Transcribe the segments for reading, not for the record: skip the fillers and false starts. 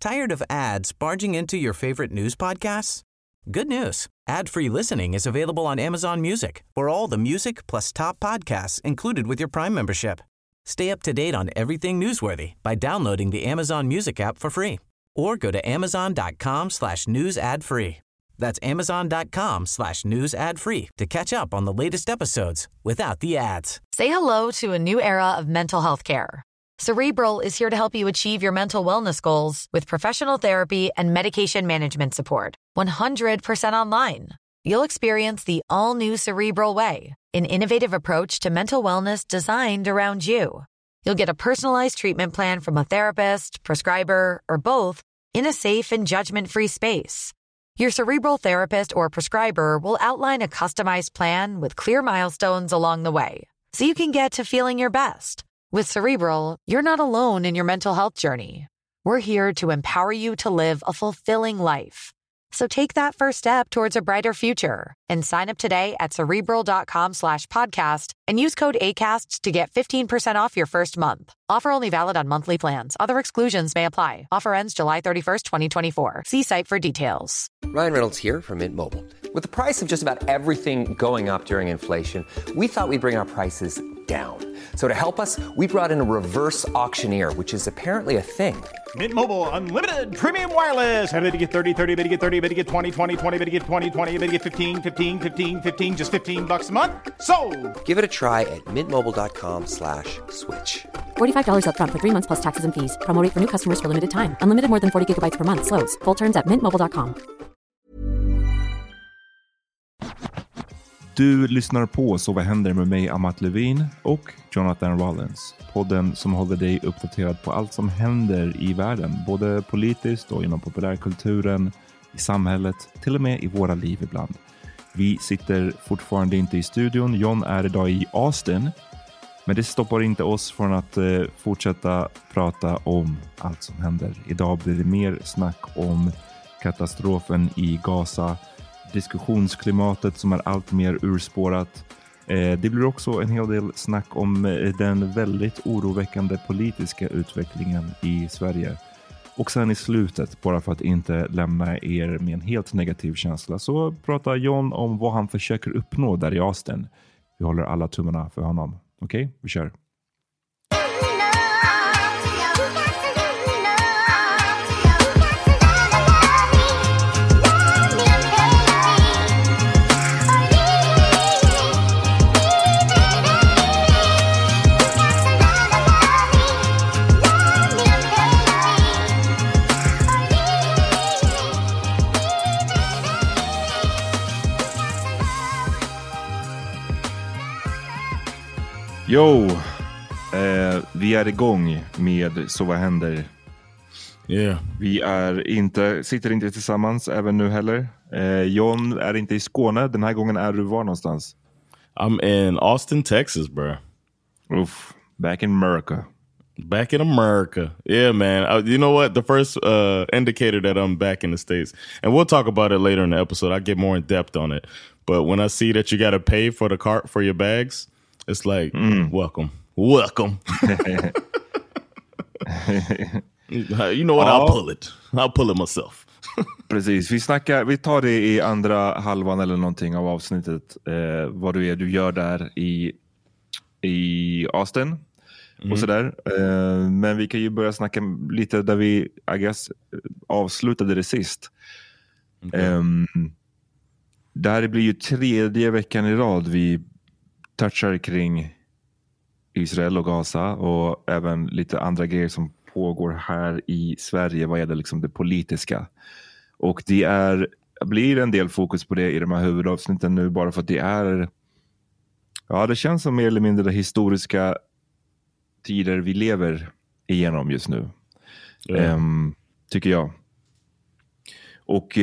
Tired of ads barging into your favorite news podcasts? Good news. Ad-free listening is available on Amazon Music for all the music plus top podcasts included with your Prime membership. Stay up to date on everything newsworthy by downloading the Amazon Music app for free or go to amazon.com/news ad free. That's amazon.com/news ad free to catch up on the latest episodes without the ads. Say hello to a new era of mental health care. Cerebral is here to help you achieve your mental wellness goals with professional therapy and medication management support. 100% online. You'll experience the all-new Cerebral Way, an innovative approach to mental wellness designed around you. You'll get a personalized treatment plan from a therapist, prescriber, or both in a safe and judgment-free space. Your Cerebral therapist or prescriber will outline a customized plan with clear milestones along the way, so you can get to feeling your best. With Cerebral, you're not alone in your mental health journey. We're here to empower you to live a fulfilling life. So take that first step towards a brighter future and sign up today at Cerebral.com/podcast and use code ACAST to get 15% off your first month. Offer only valid on monthly plans. Other exclusions may apply. Offer ends July 31st, 2024. See site for details. Ryan Reynolds here from Mint Mobile. With the price of just about everything going up during inflation, we thought we'd bring our prices down. So to help us, we brought in a reverse auctioneer, which is apparently a thing. Mint Mobile Unlimited Premium Wireless. How to get 30, 30, bit to get 30, bit to get 20, 20, 20, bit to get 20, 20, bit to get 15, 15, 15, 15, just $15 a month? Sold! Give it a try at mintmobile.com/switch. $45 up front for 3 months plus taxes and fees. Promo rate for new customers for limited time. Unlimited more than 40 gigabytes per month. Slows full terms at mintmobile.com. Du lyssnar på Så vad händer med mig, Amat Levin och Jonathan Rollins. Podden som håller dig uppdaterad på allt som händer i världen. Både politiskt och inom populärkulturen, i samhället, till och med i våra liv ibland. Vi sitter fortfarande inte i studion. John är idag i Austin. Men det stoppar inte oss från att fortsätta prata om allt som händer. Idag blir det mer snack om katastrofen i Gaza. Diskussionsklimatet som är allt mer urspårat. Det blir också en hel del snack om den väldigt oroväckande politiska utvecklingen i Sverige. Och sen i slutet, bara för att inte lämna er med en helt negativ känsla, så pratar John om vad han försöker uppnå där i Austin. Vi håller alla tummarna för honom. Okej, vi kör. Jo, vi är igång med Så vad händer? Yeah. Vi sitter inte tillsammans även nu heller. John är inte i Skåne. Den här gången är du var någonstans? I'm in Austin, Texas, bro. Oof, back in America. Back in America. Yeah, man. You know what? The first indicator that I'm back in the States, and we'll talk about it later in the episode. I'll get more in depth on it. But when I see that you got to pay for the cart for your bags, it's like, welcome. You know what? I'll pull it myself. Precis, vi tar det i andra halvan eller någonting av avsnittet. Vad du gör där i Austin och sådär. Men vi kan ju börja snacka lite där vi, I guess, avslutade det sist. Okay. Där blir ju 3:e veckan i rad vi touchar kring Israel och Gaza och även lite andra grejer som pågår här i Sverige vad gäller liksom det politiska. Och det blir en del fokus på det i de här huvudavsnitten nu bara för att det känns som mer eller mindre historiska tider vi lever igenom just nu. Tycker jag. Och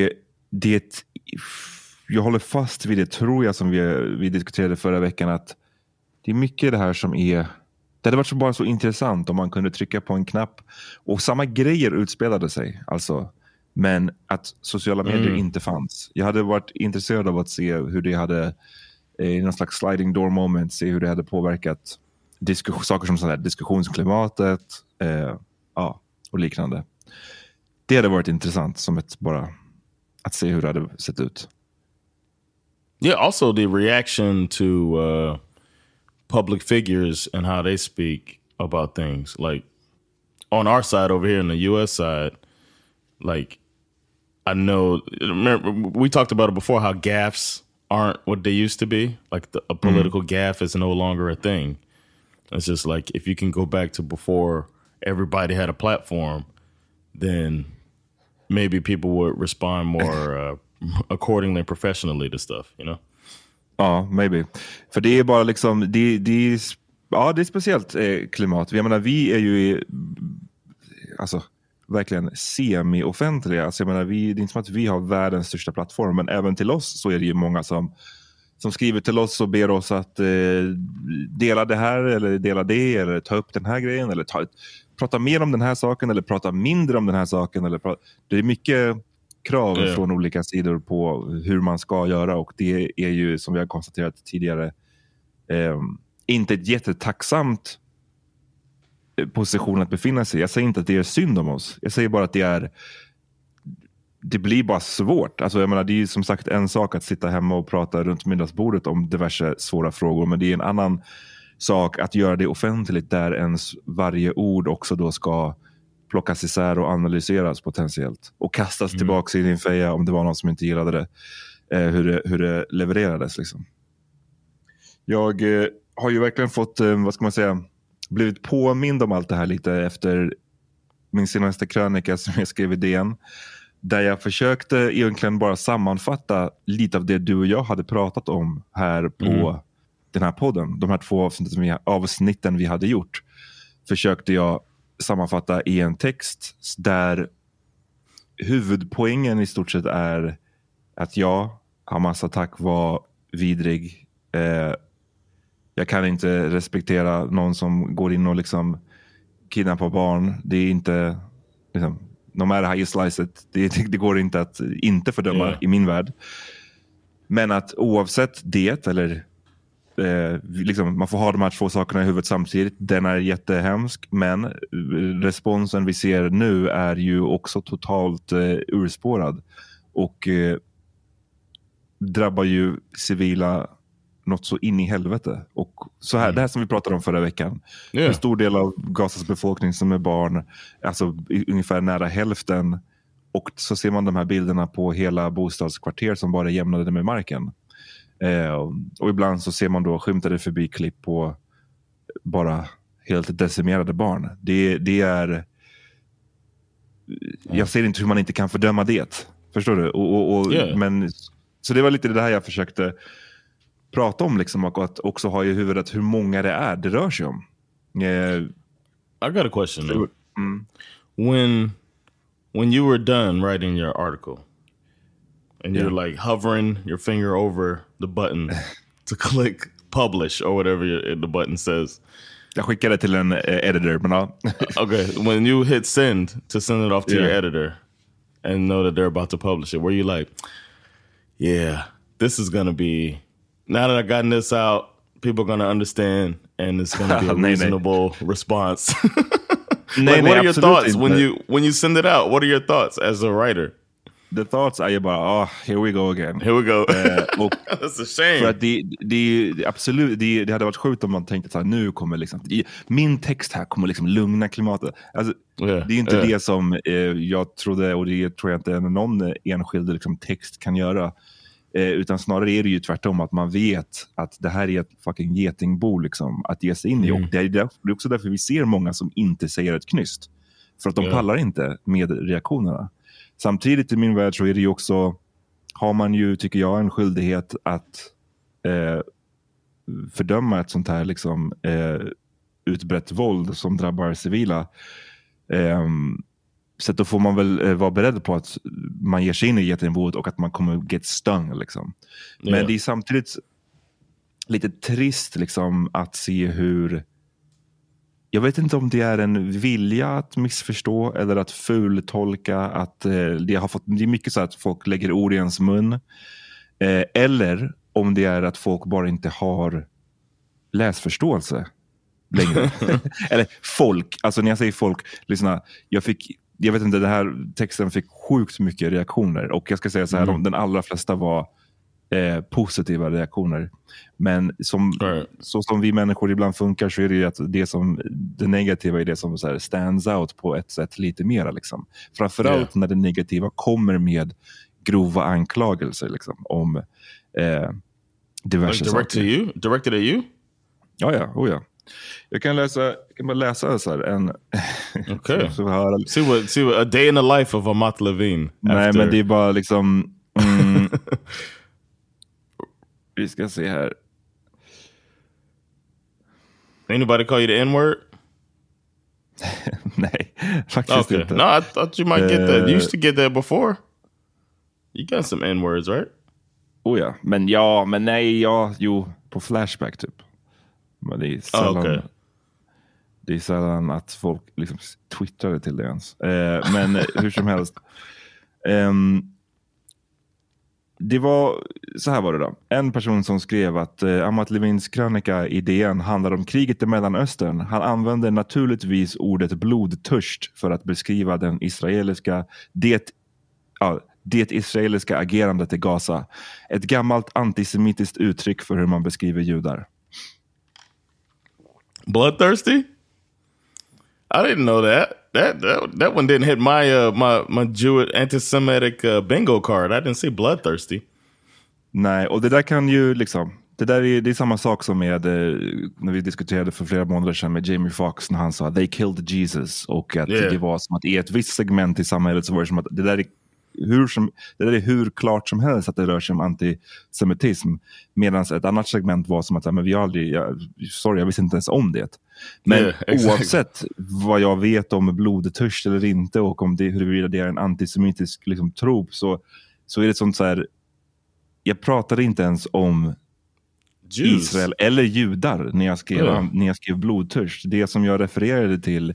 jag håller fast vid det, tror jag, som vi diskuterade förra veckan, att det är mycket det här som det hade varit bara så intressant om man kunde trycka på en knapp och samma grejer utspelade sig, alltså, men att sociala medier inte fanns. Jag hade varit intresserad av att se hur det hade i någon slags sliding door moment, se hur det hade påverkat saker som sådär, diskussionsklimatet och liknande. Det hade varit intressant som ett bara att se hur det hade sett ut. Yeah, also the reaction to public figures and how they speak about things. Like on our side over here in the US side, like I know, remember, we talked about it before, how gaffes aren't what they used to be. Like a political gaffe is no longer a thing. It's just like, if you can go back to before everybody had a platform, then maybe people would respond more accordingly and professionally to stuff, you know? Ja, maybe. För det är bara liksom, det är speciellt klimat. Jag menar, vi är ju alltså verkligen semi-offentliga. Alltså jag menar, det är inte som att vi har världens största plattform, men även till oss så är det ju många som skriver till oss och ber oss att dela det här eller dela det eller ta upp den här grejen eller prata mer om den här saken eller prata mindre om den här saken. Det är mycket krav från olika sidor på hur man ska göra, och det är ju, som vi har konstaterat tidigare, inte ett jättetacksamt position att befinna sig i. Jag säger inte att det är synd om oss. Jag säger bara att det blir bara svårt. Alltså jag menar, det är ju som sagt en sak att sitta hemma och prata runt middagsbordet om diverse svåra frågor, men det är en annan sak att göra det offentligt där ens varje ord också då ska plockas isär och analyseras potentiellt och kastas tillbaka i din feja om det var någon som inte gillade det, hur det levererades liksom. Jag har ju verkligen fått, vad ska man säga, blivit påmind om allt det här lite efter min senaste krönika som jag skrev i DN, där jag försökte egentligen bara sammanfatta lite av det du och jag hade pratat om här på den här podden. De här 2 avsnitten vi hade gjort försökte jag sammanfatta i en text där huvudpoängen i stort sett är att Hamas attack var vidrig. Jag kan inte respektera någon som går in och liksom kidnappar barn. Det är inte liksom, no matter how you slice it, det går inte att inte fördöma i min värld. Men att oavsett det, eller liksom, man får ha de här 2 sakerna i huvudet samtidigt, den är jättehemsk, men responsen vi ser nu är ju också totalt urspårad och drabbar ju civila något så in i helvete. Och så här, det här som vi pratade om förra veckan. En stor del av Gazas befolkning som är barn, alltså ungefär nära hälften, och så ser man de här bilderna på hela bostadskvarter som bara är jämnade med marken. Och ibland så ser man då skymtade förbi klipp på bara helt decimerade barn. Det är jag ser inte hur man inte kan fördöma det. Förstår du? Men så det var lite det här jag försökte prata om liksom, och att också ha i huvudet hur många det rör sig om. I got a question though. When you were done writing your article and you're like hovering your finger over the button to click publish or whatever the button says. Jag skickade till en editor, men ja. Okay, when you hit send to send it off to your editor and know that they're about to publish it, were you like, yeah, this is gonna be, now that I've gotten this out, people are gonna understand and it's gonna be a reasonable response? Like, what are your thoughts when you send it out? What are your thoughts as a writer? The thoughts är ju bara, here we go again. Here we go. Och that's a shame. För att det absolut, det hade varit sjukt om man tänkte så här, nu kommer liksom, min text här kommer liksom lugna klimatet. Alltså, det är inte det som jag trodde, och det tror jag inte någon enskild liksom, text kan göra. Utan snarare är det ju tvärtom, att man vet att det här är ett fucking getingbo liksom, att ge sig in i. Och det är också därför vi ser många som inte säger ett knyst. För att de pallar inte med reaktionerna. Samtidigt i min värld så är det ju också, har man ju, tycker jag, en skyldighet att fördöma ett sånt här liksom, utbrett våld som drabbar civila. Så då får man väl vara beredd på att man ger sig in i getingboet och att man kommer get stung liksom. Men det är samtidigt lite trist liksom att se hur, jag vet inte om det är en vilja att missförstå eller att fultolka, att det är mycket så att folk lägger ord i ens mun, eller om det är att folk bara inte har läsförståelse längre. Eller folk, alltså när jag säger folk, lyssna, jag fick jag vet inte, den här texten fick sjukt mycket reaktioner. Och jag ska säga så här, den allra flesta var positiva reaktioner. Men så som vi människor ibland funkar, så är det ju att det negativa är det som så här stands out på ett sätt lite mera. Liksom. Framförallt när det negativa kommer med grova anklagelser liksom, om diverse saker. Directed at you? Ja. Jag kan bara läsa så här Okay. see what a day in the life of Amat Levine. Nej, men det är bara liksom vi ska se här. Anybody call you the N-word? Nej, faktiskt inte. No, I thought you might get that. You used to get that before. You got some N-words, right? Men nej, på Flashback typ. Men det är sällan, det är sällan att folk liksom twittrar till det ens. Men hur som helst. Det var, så här var det då. En person som skrev att Amat Levins krönika i DN handlar om kriget i Mellanöstern. Han använder naturligtvis ordet blodtörst för att beskriva det israeliska agerandet i Gaza. Ett gammalt antisemitiskt uttryck för hur man beskriver judar. Bloodthirsty? I didn't know that. That one didn't hit my Jewish anti-Semitic bingo card. I didn't see bloodthirsty. Nej, och det där kan ju liksom, det är samma sak som med när vi diskuterade för flera månader sedan med Jamie Foxx när han sa they killed Jesus, och att det var som att i ett visst segment i samhället så var det som att det där är hur klart som helst att det rör sig om antisemitism, medan ett annat segment var som att men jag visste inte ens om det. Men oavsett vad jag vet om blodtörst eller inte, och om huruvida det är en antisemitisk liksom, trop, så är det sånt så här, jag pratade inte ens om Jews. Israel eller judar när jag skrev blodtörst. Det som jag refererade till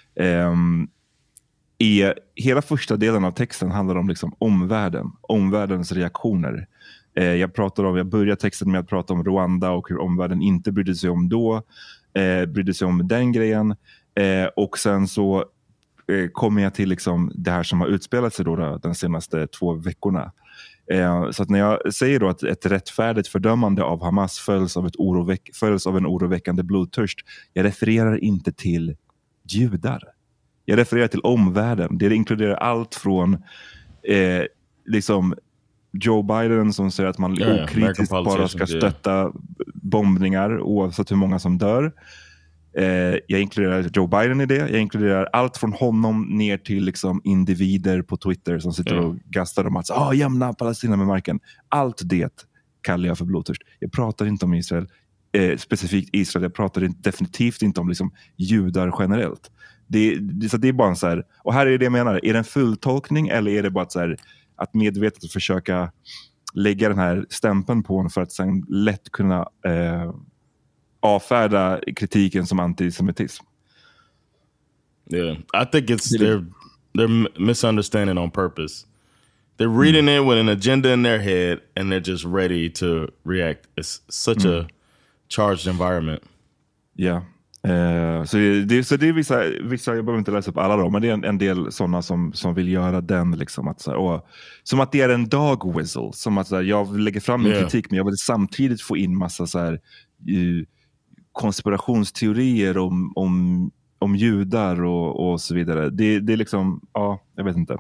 i hela första delen av texten handlar om liksom omvärldens reaktioner. Jag börjar texten med att prata om Rwanda och hur omvärlden inte brydde sig om brydde sig om den grejen. Och sen så kommer jag till liksom det här som har utspelat sig då de senaste 2 veckorna. Så att när jag säger då att ett rättfärdigt fördömande av Hamas följs av en oroväckande blodtörst, jag refererar inte till judar. Jag refererar till omvärlden. Det inkluderar allt från liksom Joe Biden som säger att man okritiskt bara ska stötta bombningar oavsett hur många som dör. Jag inkluderar Joe Biden i det. Jag inkluderar allt från honom ner till liksom individer på Twitter som sitter och gastar om att jämna Palestina med marken. Allt det kallar jag för blodtörst. Jag pratar inte om Israel, specifikt Israel. Jag pratar definitivt inte om liksom judar generellt. Så det är bara så här, och här är det jag menar, är det en fulltolkning eller är det bara så här, att medvetet försöka lägga den här stämpeln på en för att sen lätt kunna avfärda kritiken som antisemitism? Yeah, I think they're misunderstanding on purpose. They're reading it with an agenda in their head and they're just ready to react. It's such a charged environment. Yeah. Så det är vissa, jag behöver inte läsa upp alla då, men det är en del sådana som vill göra den liksom att så här, som att det är en dog whistle, som att så här, jag lägger fram min kritik men jag vill samtidigt få in massa så här konspirationsteorier om judar och så vidare. Det är liksom, jag vet inte.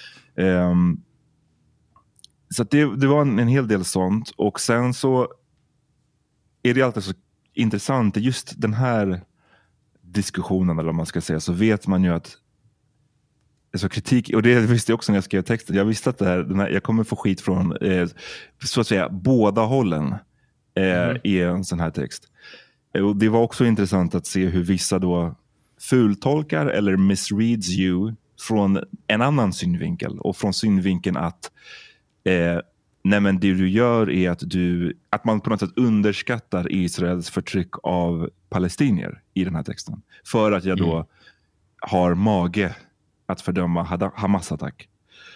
Så att det var en hel del sånt, och sen så är det alltid så intressant just den här diskussionen, eller vad man ska säga, så vet man ju att alltså kritik, och det visste jag också när jag skrev texten, jag visste att jag kommer få skit från så att säga båda hållen i en sån här text. Och det var också intressant att se hur vissa då fultolkar eller misreads you från en annan synvinkel, och från synvinkeln att nej, men det du gör är att man på något sätt underskattar Israels förtryck av palestinier i den här texten. För att jag då har mage att fördöma Hamas-attack.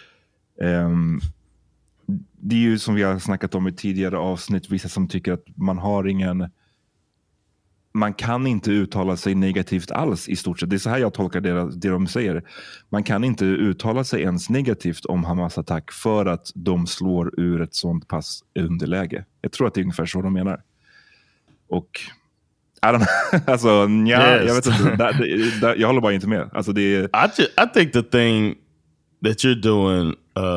Det är ju som vi har snackat om i tidigare avsnitt, vissa som tycker att man man kan inte uttala sig negativt alls i stort sett. Det är så här jag tolkar det de säger. Man kan inte uttala sig ens negativt om Hamas attack för att de slår ur ett sånt pass underläge. Jag tror att det är ungefär så de menar. Och alltså, jag vet inte. Jag håller bara inte med. Alltså, I think the thing that you're doing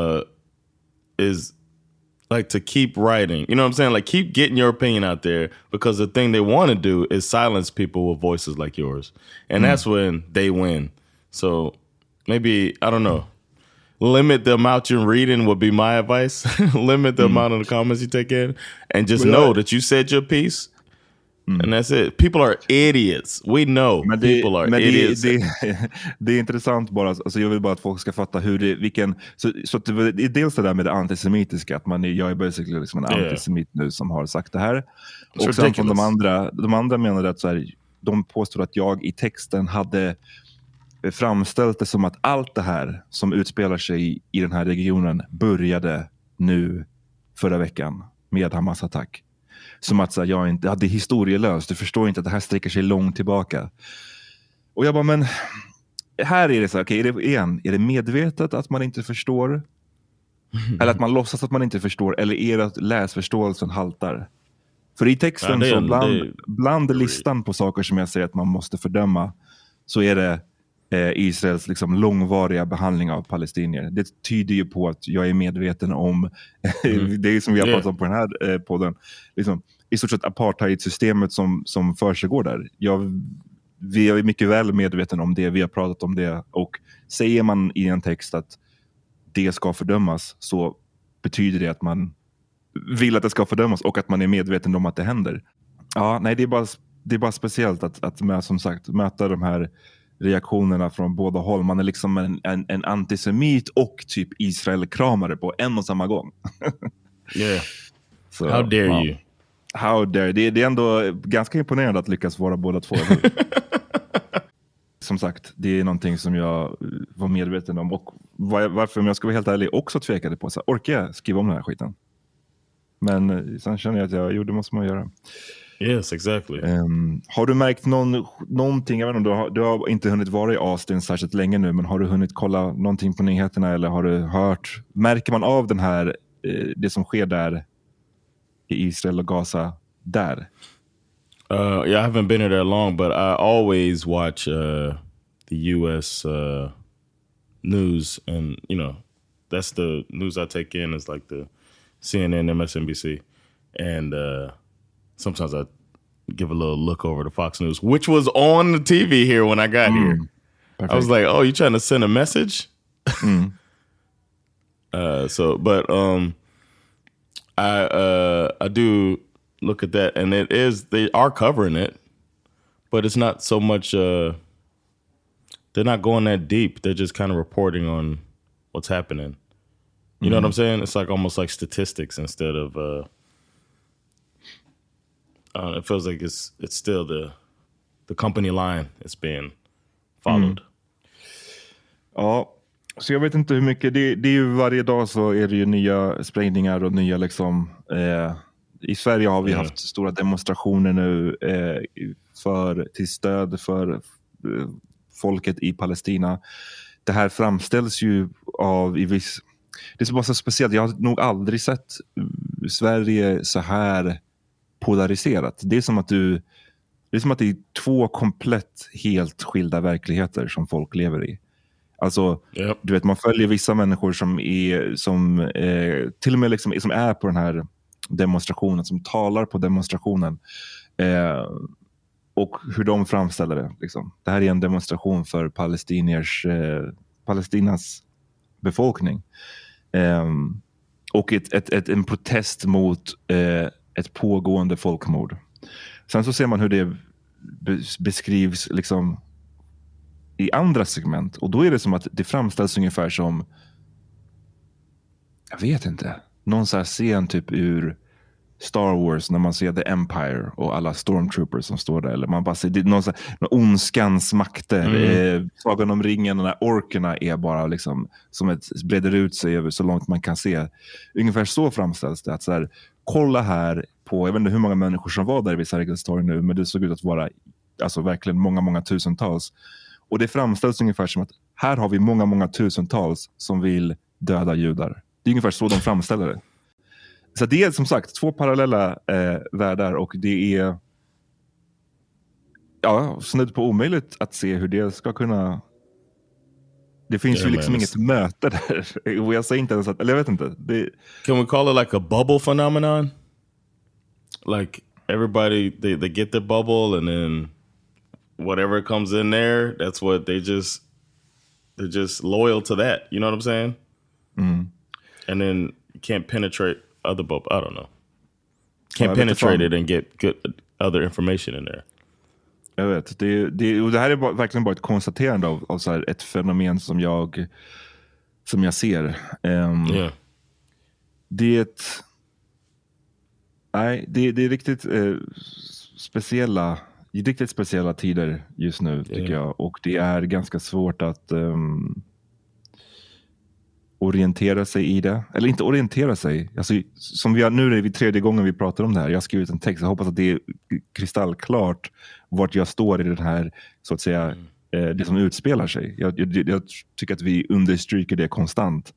is like to keep writing. You know what I'm saying? Like keep getting your opinion out there, because the thing they want to do is silence people with voices like yours. And that's when they win. So maybe, I don't know. Limit the amount you're reading would be my advice. Limit the amount of the comments you take in. And just know that you said your piece. And that's it. People are idiots. We know people are idiots. Det är intressant bara. Alltså jag vill bara att folk ska fatta hur så att det är dels det där med det antisemitiska. Att jag är basically liksom en antisemit nu som har sagt det här. Och sen från de andra menar att så här, de påstår att jag i texten hade framställt det som att allt det här som utspelar sig i den här regionen började nu förra veckan med Hamas attack. Som att så här, jag inte hade historielöst. Du förstår inte att det här sträcker sig långt tillbaka. Och jag bara, men här är det så här, okej, är det medvetet att man inte förstår? Eller att man låtsas att man inte förstår? Eller är det att läsförståelsen haltar? För i texten så bland listan på saker som jag säger att man måste fördöma, så är det Israels liksom långvariga behandling av palestinier. Det tyder ju på att jag är medveten om det är som vi har pratat om på den här podden. Liksom, i stort sett apartheidsystemet som försiggår där. Vi är mycket väl medveten om det. Vi har pratat om det. Och säger man i en text att det ska fördömas, så betyder det att man vill att det ska fördömas och att man är medveten om att det händer. Ja, nej, det är bara speciellt att med, som sagt, möta de här reaktionerna från båda håll. Man är liksom en antisemit och typ Israel-kramare på en och samma gång. Yeah. So, how dare you? How dare. Det är ändå ganska imponerande att lyckas vara båda två. Som sagt, det är någonting som jag var medveten om. Och varför, om jag ska vara helt ärlig, också tvekade på. Så orkar jag skriva om den här skiten? Men sen känner jag att det måste man göra. Yes, exactly. Har du märkt någonting, jag vet inte, du har inte hunnit vara i Austin särskilt länge nu, men har du hunnit kolla någonting på nyheterna, eller har du hört, märker man av den här, det som sker där i Israel och Gaza där? Yeah, I haven't been here that long, but I always watch the US news, and you know, that's the news I take in, is like the CNN, MSNBC, and sometimes I give a little look over to Fox News, which was on the TV here when I got here. Perfect. I was like, "Oh, you trying to send a message?" I do look at that, and they are covering it, but it's not so much. They're not going that deep. They're just kind of reporting on what's happening. You know what I'm saying? It's like almost like statistics instead of. It feels like it's still the company line is being followed. Ja, så jag vet inte hur mycket. Det är ju varje dag så är det ju nya sprängningar och nya liksom. I Sverige har vi haft stora demonstrationer nu till stöd för folket i Palestina. Det här framställs ju av det är bara så speciellt. Jag har nog aldrig sett Sverige så här polariserat. Det är som att det är två komplett helt skilda verkligheter som folk lever i. Alltså, du vet, man följer vissa människor som till och med liksom, som är på den här demonstrationen, som talar på demonstrationen, och hur de framställer det. Liksom. Det här är en demonstration för Palestinas befolkning. Och en protest mot ett pågående folkmord. Sen så ser man hur det beskrivs liksom i andra segment, och då är det som att det framställs ungefär som, jag vet inte, någon så här scen typ ur Star Wars när man ser The Empire och alla stormtroopers som står där, eller man bara ser någon ondskans makter. Sagan om ringen, och de här orkerna är bara liksom som breder ut sig över så långt man kan se. Ungefär så framställs det, att så här, kolla här på, jag vet inte hur många människor som var där vid Sergels torg nu, men det såg ut att vara alltså verkligen många tusentals. Och det framställs ungefär som att här har vi många tusentals som vill döda judar. Det är ungefär så de framställer det. Så det är som sagt 2 parallella världar, och det är snudd på omöjligt att se hur det ska kunna... Det finns ju liksom inget möte där. Och jag säger inte ens att... Eller jag vet inte. Can we call it like a bubble phenomenon? Like everybody, they get their bubble, and then whatever comes in there, that's what they're just loyal to that. You know what I'm saying? And then you can't penetrate other bubble. I don't know. Can't penetrate it and get good other information in there. Jag vet. Och det här är verkligen bara ett konstaterande av så här ett fenomen som jag ser. Det är riktigt speciella tider just nu, tycker jag. Och det är ganska svårt att orientera sig i det. Eller inte orientera sig. Alltså, nu är det 3:e gången vi pratar om det här. Jag har skrivit en text. Jag hoppas att det är kristallklart vart jag står i den här, så att säga, det som utspelar sig. Jag tycker att vi understryker det konstant.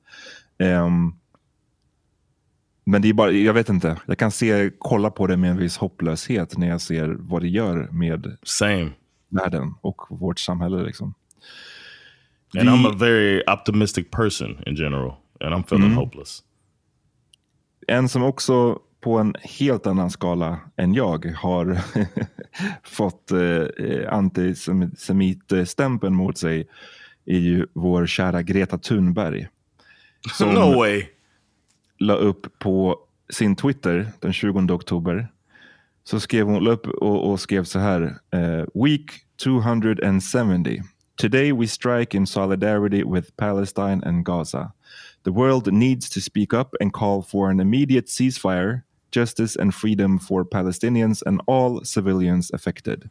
Men det är bara, jag vet inte. Jag kan kolla på det med en viss hopplöshet när jag ser vad det gör med världen och vårt samhälle liksom. And I'm a very optimistic person in general. And I'm feeling hopeless. En som också på en helt annan skala än jag har fått antisemitstämpeln mot sig är ju vår kära Greta Thunberg. Som no way. La upp på sin Twitter den 20 oktober. Så skrev hon upp och skrev så här. Week 270. Today we strike in solidarity with Palestine and Gaza. The world needs to speak up and call for an immediate ceasefire, justice and freedom for Palestinians and all civilians affected.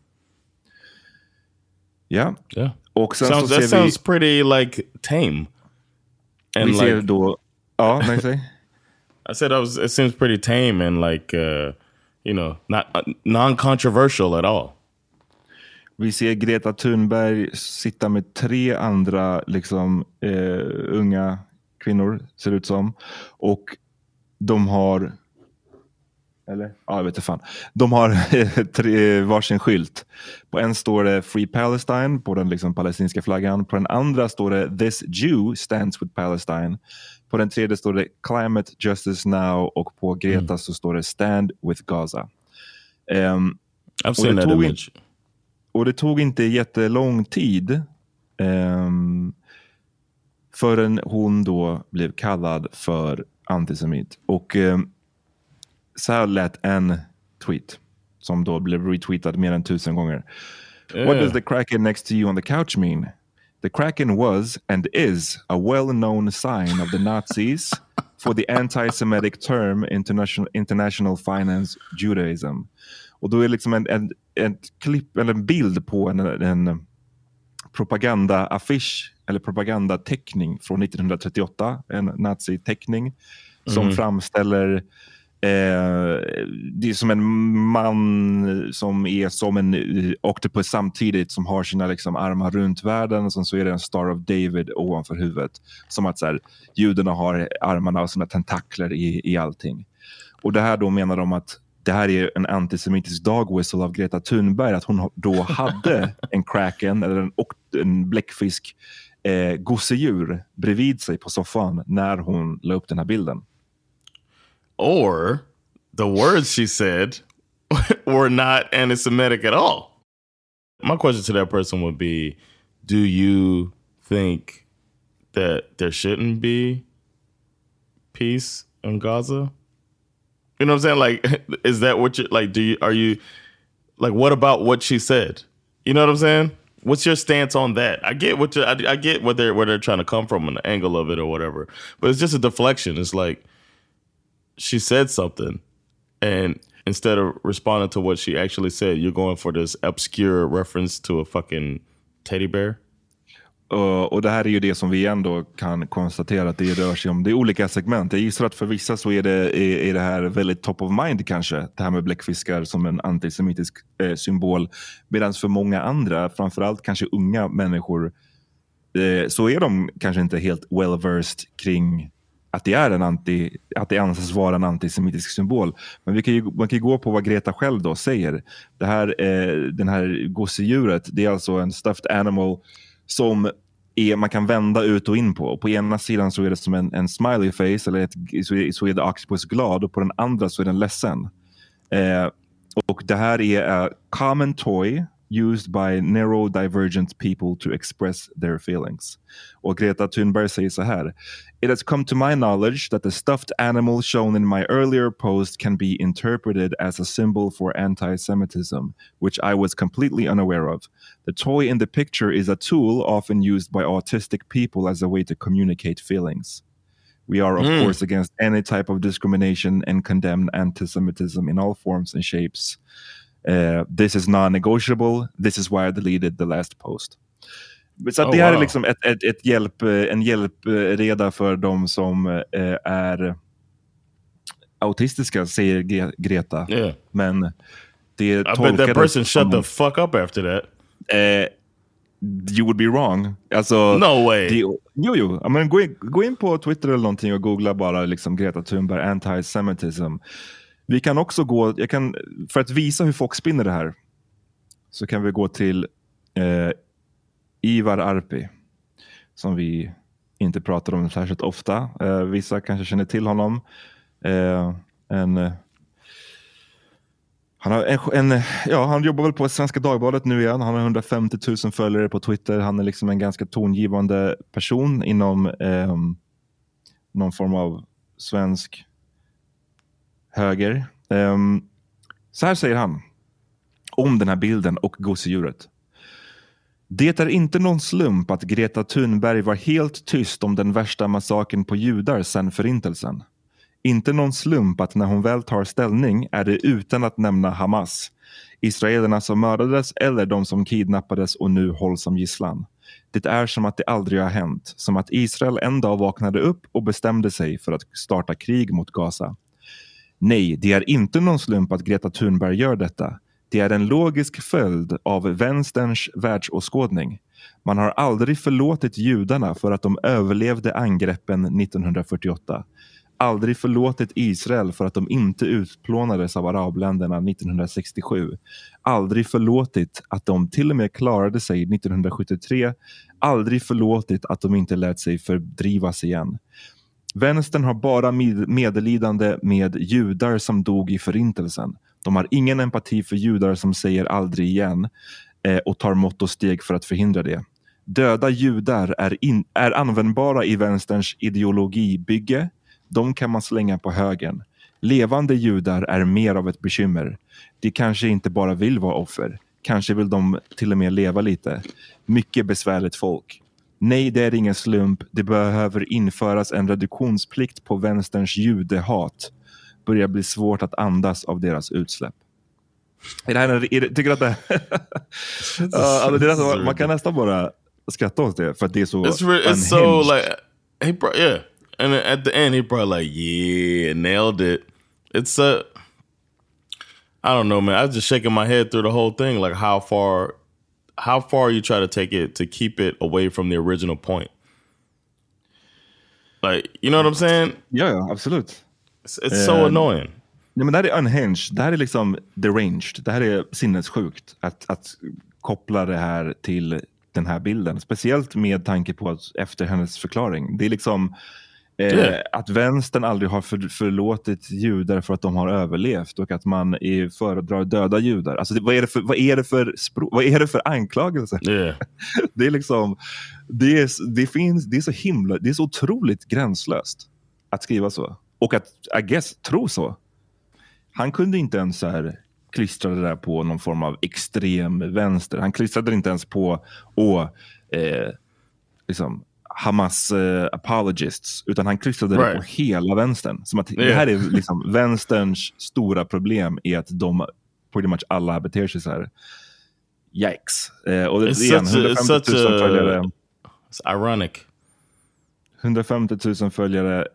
Yeah. Och sen that sounds pretty like tame. And vi ser då... Ja, nej, säg. I said it seems pretty tame and like, not non-controversial at all. Vi ser Greta Thunberg sitta med 3 andra liksom, unga kvinnor, ser det ut som. Och de har... Eller? Ja, jag vet inte fan. De har varsin skylt. På en står det Free Palestine, på den liksom palestinska flaggan. På den andra står det This Jew stands with Palestine. På den tredje står det Climate Justice Now. Och på Greta så står det Stand with Gaza. I've seen that image. Och det tog inte jättelång tid förrän hon då blev kallad för antisemit. Och så här lät en tweet som då blev retweetad mer än 1000 gånger. What does the Kraken next to you on the couch mean? The Kraken was and is a well-known sign of the Nazis for the anti-Semitic term international finance Judaism. Och då är liksom en klipp eller en bild på en propagandaaffisch eller propagandateckning från 1938, en naziteckning som framställer det är som en man som är som en octopus samtidigt, som har sina liksom armar runt världen, och så är det en Star of David ovanför huvudet, som att så här, judarna har armarna och sina tentakler i allting. Och det här då menar de att det här är en antisemitisk dog whistle av Greta Thunberg, att hon då hade en kraken eller en bläckfisk gosedjur bredvid sig på soffan när hon la upp den här bilden. Or the words she said were not anti-Semitic at all. My question to that person would be, do you think that there shouldn't be peace in Gaza? You know what I'm saying? Like, is that what you like? Are you like, what about what she said? You know what I'm saying? What's your stance on that? I get I get where they're trying to come from, an angle of it or whatever, but it's just a deflection. It's like she said something, and instead of responding to what she actually said, you're going for this obscure reference to a fucking teddy bear. Och det här är ju det som vi ändå kan konstatera att det rör sig om. Det är olika segment. Jag gissar att för vissa så är det här väldigt top of mind kanske. Det här med bläckfiskar som en antisemitisk symbol. Medan för många andra, framförallt kanske unga människor, så är de kanske inte helt well-versed kring att det är att det anses vara en antisemitisk symbol. Men man kan ju gå på vad Greta själv då säger. Den här gosedjuret, det är alltså en stuffed animal som man kan vända ut och in på. På ena sidan så är det som en smiley face, eller så är det Octopus glad, och på den andra så är den ledsen. Och det här är a common toy used by neurodivergent people to express their feelings. Och Greta Thunberg säger så här: It has come to my knowledge that the stuffed animal shown in my earlier post can be interpreted as a symbol for anti-Semitism, which I was completely unaware of. The toy in the picture is a tool often used by autistic people as a way to communicate feelings. We are, of course, against any type of discrimination and condemn anti-Semitism in all forms and shapes. This is non-negotiable. This is why I deleted the last post. Så det här är liksom en hjälpreda för de som är autistiska, säger Greta. Yeah. Men det I bet that person shut the fuck up after that. You would be wrong. Alltså, no way. Jo. Men gå in på Twitter eller någonting och googla bara liksom Greta Thunberg anti-Semitism. Vi kan också för att visa hur folk spinner det här, så kan vi gå till Ivar Arpi, som vi inte pratar om särskilt ofta. Vissa kanske känner till honom. Han jobbar väl på Svenska Dagbladet nu igen. Han har 150 000 följare på Twitter. Han är liksom en ganska tongivande person inom någon form av svensk höger. Så här säger han om den här bilden och gosedjuret. Det är inte någon slump att Greta Thunberg var helt tyst om den värsta massakern på judar sedan förintelsen. Inte någon slump att när hon väl tar ställning är det utan att nämna Hamas, israelerna som mördades eller de som kidnappades och nu hålls som gisslan. Det är som att det aldrig har hänt, som att Israel en dag vaknade upp och bestämde sig för att starta krig mot Gaza. Nej, det är inte någon slump att Greta Thunberg gör detta. Det är en logisk följd av vänsterns världsåskådning. Man har aldrig förlåtit judarna för att de överlevde angreppen 1948. Aldrig förlåtit Israel för att de inte utplånades av arabländerna 1967. Aldrig förlåtit att de till och med klarade sig 1973. Aldrig förlåtit att de inte lät sig fördrivas igen. Vänstern har bara medlidande med judar som dog i förintelsen. De har ingen empati för judar som säger aldrig igen och tar mått och steg för att förhindra det. Döda judar är användbara i vänsterns ideologibygge. De kan man slänga på högen. Levande judar är mer av ett bekymmer. De kanske inte bara vill vara offer. Kanske vill de till och med leva lite. Mycket besvärligt folk. Nej, det är ingen slump. Det behöver införas en reduktionsplikt på vänsterns judehat. Börjar bli svårt att andas av deras utsläpp. Tycker att det är man kan nästan bara skratta åt det för att det är så it's so like he brought, yeah, and at the end he brought like yeah, nailed it. It's I don't know, man. I was just shaking my head through the whole thing, like how far you try to take it to keep it away from the original point. Like, you know what I'm saying? Ja, absolut. It's so annoying. Nej, men det här är unhinged. Det här är liksom deranged. Det här är sinnessjukt att koppla det här till den här bilden. Speciellt med tanke på att efter hennes förklaring. Det är liksom att vänstern aldrig har förlåtit judar för att de har överlevt och att man föredrar döda judar. Alltså vad är det för anklagelser? Yeah. Det är liksom det är så himla, det är så otroligt gränslöst att skriva så. Och att, I guess, tro så. Han kunde inte ens så här klistra det där på någon form av extrem vänster. Han klistrade inte ens på liksom Hamas apologists, utan han klistrade det på hela vänstern. Som att det här är liksom vänsterns stora problem är att de pretty much alla beter sig så här. Yikes. Och det igen, 150 000 följare. It's ironic. 150 000 följare.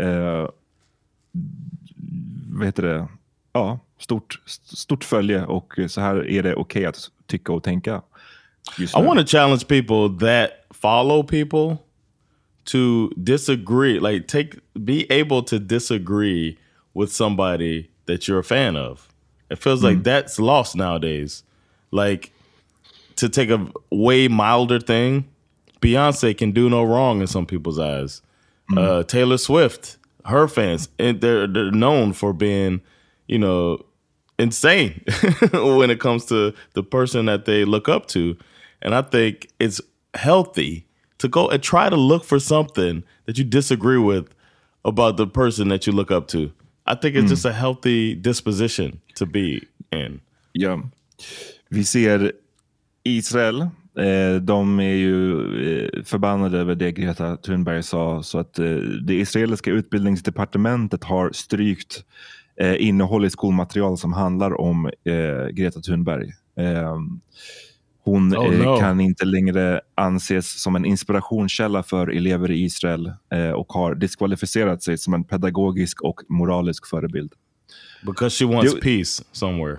Vad heter det? Ja, stort följe, och så här är det okej att tycka och tänka. I want to challenge people that follow people to disagree, like be able to disagree with somebody that you're a fan of. It feels like that's lost nowadays. Like, to take a way milder thing, Beyonce can do no wrong in some people's eyes. Taylor Swift, her fans, and they're known for being, you know, insane when it comes to the person that they look up to. And I think it's healthy to go and try to look for something that you disagree with about the person that you look up to. I think it's just a healthy disposition to be in. Ja, vi ser Israel. De är ju förbannade över det Greta Thunberg sa, så att det israeliska utbildningsdepartementet har strykt innehåll i skolmaterial som handlar om Greta Thunberg. Hon kan inte längre anses som en inspirationskälla för elever i Israel och har diskvalificerat sig som en pedagogisk och moralisk förebild. Because she wants peace somewhere.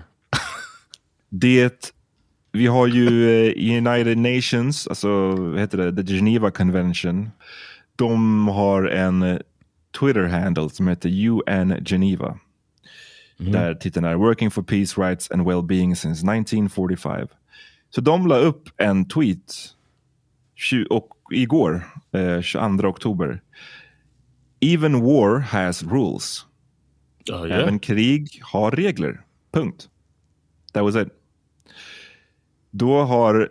Vi har ju United Nations, alltså vad heter det, The Geneva Convention. De har en Twitter-handle som heter UN Geneva. Där titeln är Working for Peace, Rights and Well-being since 1945. Så de la upp en tweet igår, 22 oktober. Even war has rules. Även krig har regler. Punkt. That was it. Då har...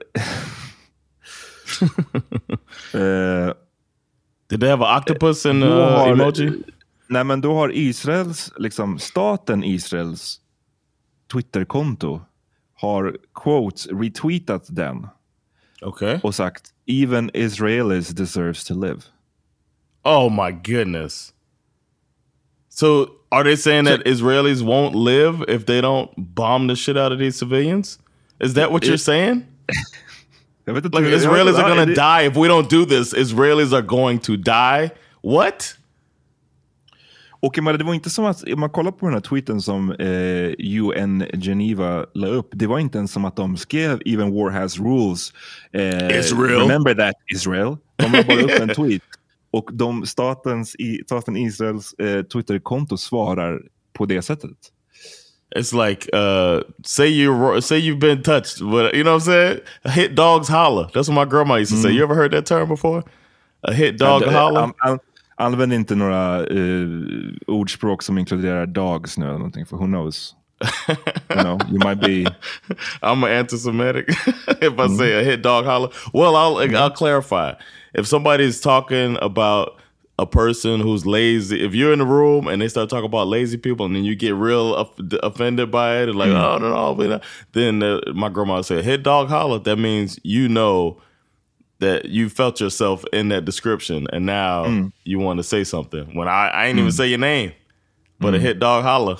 Did they have an octopus in emoji? Nej, men då har Israels, liksom staten Israels Twitterkonto har quotes retweetat den. Okay. Och sagt, even Israelis deserves to live. Oh my goodness. So are they saying that Israelis won't live if they don't bomb the shit out of these civilians? Is that what you're saying? Like Israelis are going to die if we don't do this. Israelis are going to die. What? Och men det var inte som att, om man kollar på den här tweeten som UN Geneva la upp, det var inte ens som att de skrev even war has rules. Israel. Remember that Israel. De la bara upp en tweet. Och staten Israels Twitterkonto svarar på det sättet. It's like say you've been touched, but you know what I'm saying? A hit dog's holler. That's what my grandma used to say. You ever heard that term before? A hit dog holler. Använd inte några ordspråk som inkluderar dogs nu eller någonting, för who knows? You might be. I'm an anti-Semitic if I say a hit dog holler. Well, I'll clarify. If somebody's talking about a person who's lazy, if you're in the room and they start talking about lazy people and then you get real offended by it and like, oh, no, then my grandma would say, hit dog holler. That means you know that you felt yourself in that description and now you want to say something. When I ain't even say your name, but a hit dog holler.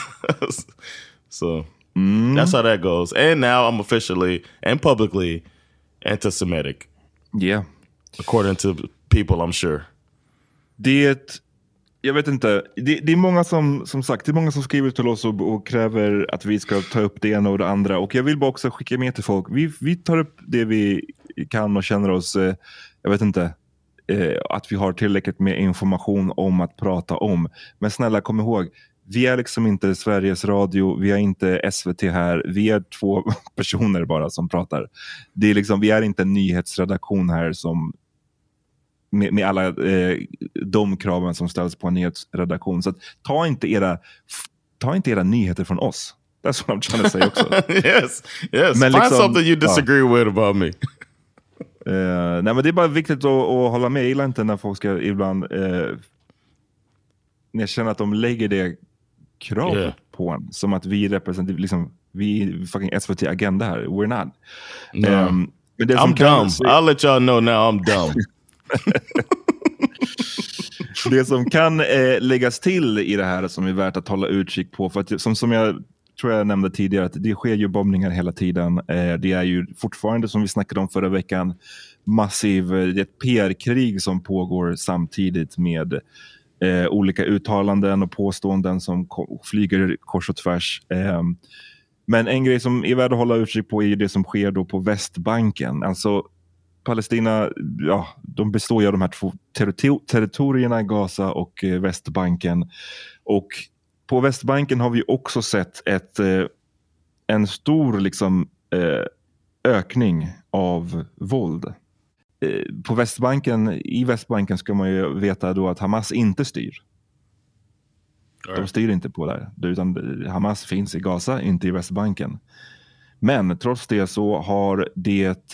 So that's how that goes. And now I'm officially and publicly anti-Semitic. Yeah. According to people, I'm sure. Jag vet inte. Det är många som sagt, det är många som skriver till oss och kräver att vi ska ta upp det ena och det andra. Och jag vill bara också skicka med till folk. Vi tar upp det vi kan och känner oss, jag vet inte, att vi har tillräckligt med information om att prata om. Men snälla, kom ihåg, vi är liksom inte Sveriges Radio, vi är inte SVT här, vi är 2 personer bara som pratar. Det är liksom, vi är inte en nyhetsredaktion här som med alla de kraven som ställs på en nyhetsredaktion. Så att, ta inte era nyheter från oss. That's what I'm trying to say också. yes. Men find something you disagree with about me. Nej, men det är bara viktigt att hålla med. Jag gillar inte när folk ska ibland när jag känner att de lägger det krav på en. Som att vi representerar, liksom, vi fucking SVT-agenda här. We're not. Men det I'm dumb. I'll let y'all know now I'm dumb. Det som kan läggas till i det här som är värt att hålla utkik på, för att som jag tror jag nämnde tidigare, att det sker ju bombningar hela tiden. Det är ju fortfarande, som vi snackade om förra veckan, ett PR-krig som pågår samtidigt med olika uttalanden och påståenden som flyger kors och tvärs. Men en grej som är värd att hålla utkik på är det som sker då på Västbanken. Alltså Palestina, de består ju av de här två territorierna, Gaza och Västbanken. Och på Västbanken har vi också sett en stor liksom, ökning av våld. I Västbanken ska man ju veta då att Hamas inte styr. De styr inte på där, utan Hamas finns i Gaza, inte i Västbanken. Men trots det så har det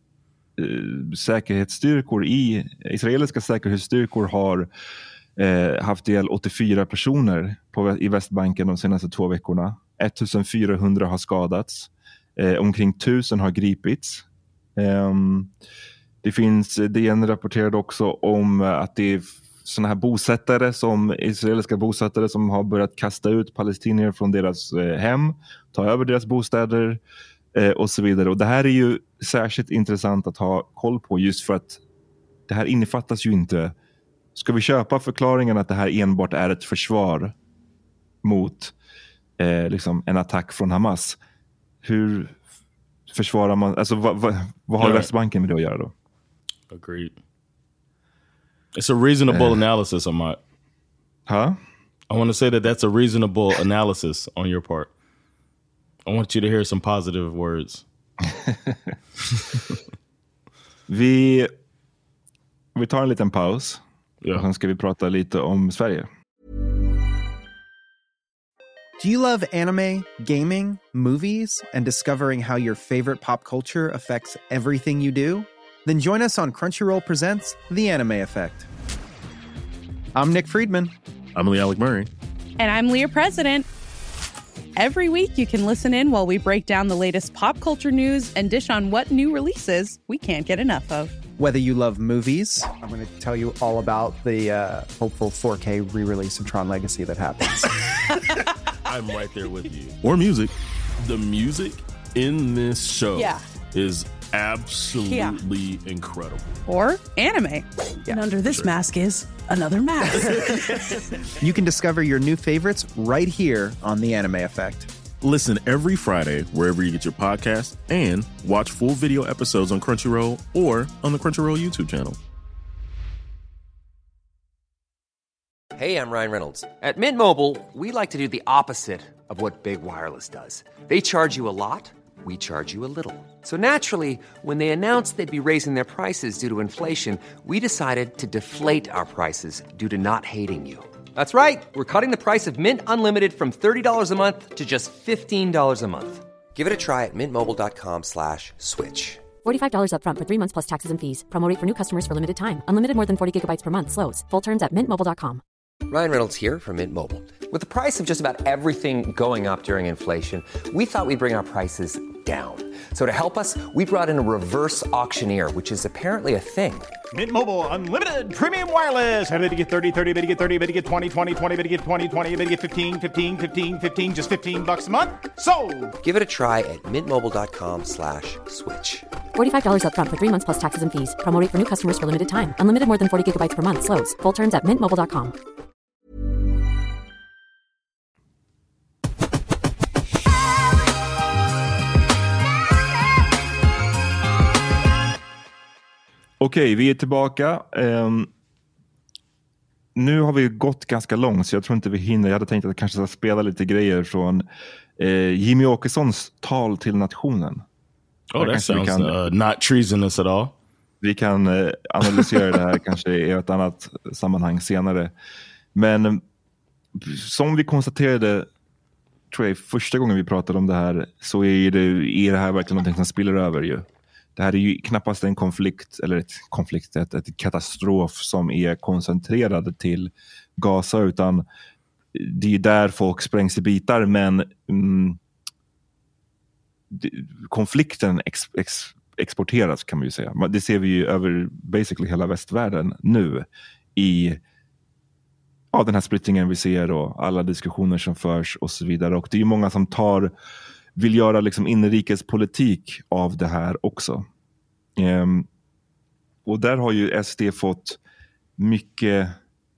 israeliska säkerhetsstyrkor har haft ihjäl 84 personer i Västbanken de senaste 2 veckorna. 1400 har omkring 1000 har gripits. DN rapporterade också om att det är såna här israeliska bosättare som har börjat kasta ut palestinier från deras hem, ta över deras bostäder och så vidare. Och det här är ju särskilt intressant att ha koll på, just för att det här innefattas ju inte. Ska vi köpa förklaringen att det här enbart är ett försvar mot liksom en attack från Hamas? Hur försvarar man, alltså vad har Västbanken med det att göra då? Agreed. It's a reasonable analysis on my... Huh? I want to say that's a reasonable analysis on your part. I want you to hear some positive words. Vi tar en liten paus. Och sen ska vi prata lite om Sverige. Do you love anime, gaming, movies, and discovering how your favorite pop culture affects everything you do? Then join us on Crunchyroll Presents The Anime Effect. I'm Nick Friedman. I'm Lee Alec Murray. And I'm Leah President. Every week you can listen in while we break down the latest pop culture news and dish on what new releases we can't get enough of. Whether you love movies, I'm going to tell you all about the hopeful 4K re-release of Tron Legacy that happens. I'm right there with you. Or music. The music in this show is absolutely incredible. Or anime. And under this mask is another mask. You can discover your new favorites right here on The Anime Effect. Listen every Friday wherever you get your podcast, and watch full video episodes on Crunchyroll or on the Crunchyroll YouTube channel. Hey, I'm Ryan Reynolds. At Mint Mobile, we like to do the opposite of what Big Wireless does. They charge you a lot, we charge you a little. So naturally, when they announced they'd be raising their prices due to inflation, we decided to deflate our prices due to not hating you. That's right. We're cutting the price of Mint Unlimited from $30 a month to just $15 a month. Give it a try at mintmobile.com/switch. $45 up front for 3 months plus taxes and fees. Promo rate for new customers for limited time. Unlimited more than 40 gigabytes per month. Slows full terms at mintmobile.com. Ryan Reynolds here from Mint Mobile. With the price of just about everything going up during inflation, we thought we'd bring our prices down. So to help us, we brought in a reverse auctioneer, which is apparently a thing. Mint Mobile Unlimited Premium Wireless. How to get 30, 30, bit to get 30, bit to get 20, 20, 20, bit to get 20, 20, bit to get 15, 15, 15, 15, just $15 a month? Sold! Give it a try at mintmobile.com/switch. $45 up front for 3 months plus taxes and fees. Promo rate for new customers for limited time. Unlimited more than 40 gigabytes per month. Slows full terms at mintmobile.com. Okej, vi är tillbaka. Nu har vi gått ganska långt, så jag tror inte vi hinner. Jag hade tänkt att jag kanske ska spela lite grejer från Jimmy Åkessons tal till nationen. Oh, that sounds not treasonous at all. Vi kan analysera det här kanske i ett annat sammanhang senare. Men som vi konstaterade, tror jag, första gången vi pratade om det här, så är det här verkligen någonting som spiller över ju. Det här är ju knappast en konflikt eller ett katastrof som är koncentrerad till Gaza, utan det är där folk sprängs i bitar, men konflikten exporteras, kan man ju säga. Det ser vi ju över basically hela västvärlden nu i den här splittringen vi ser och alla diskussioner som förs och så vidare. Och det är ju många som vill göra liksom inrikespolitik av det här också. Och där har ju SD fått mycket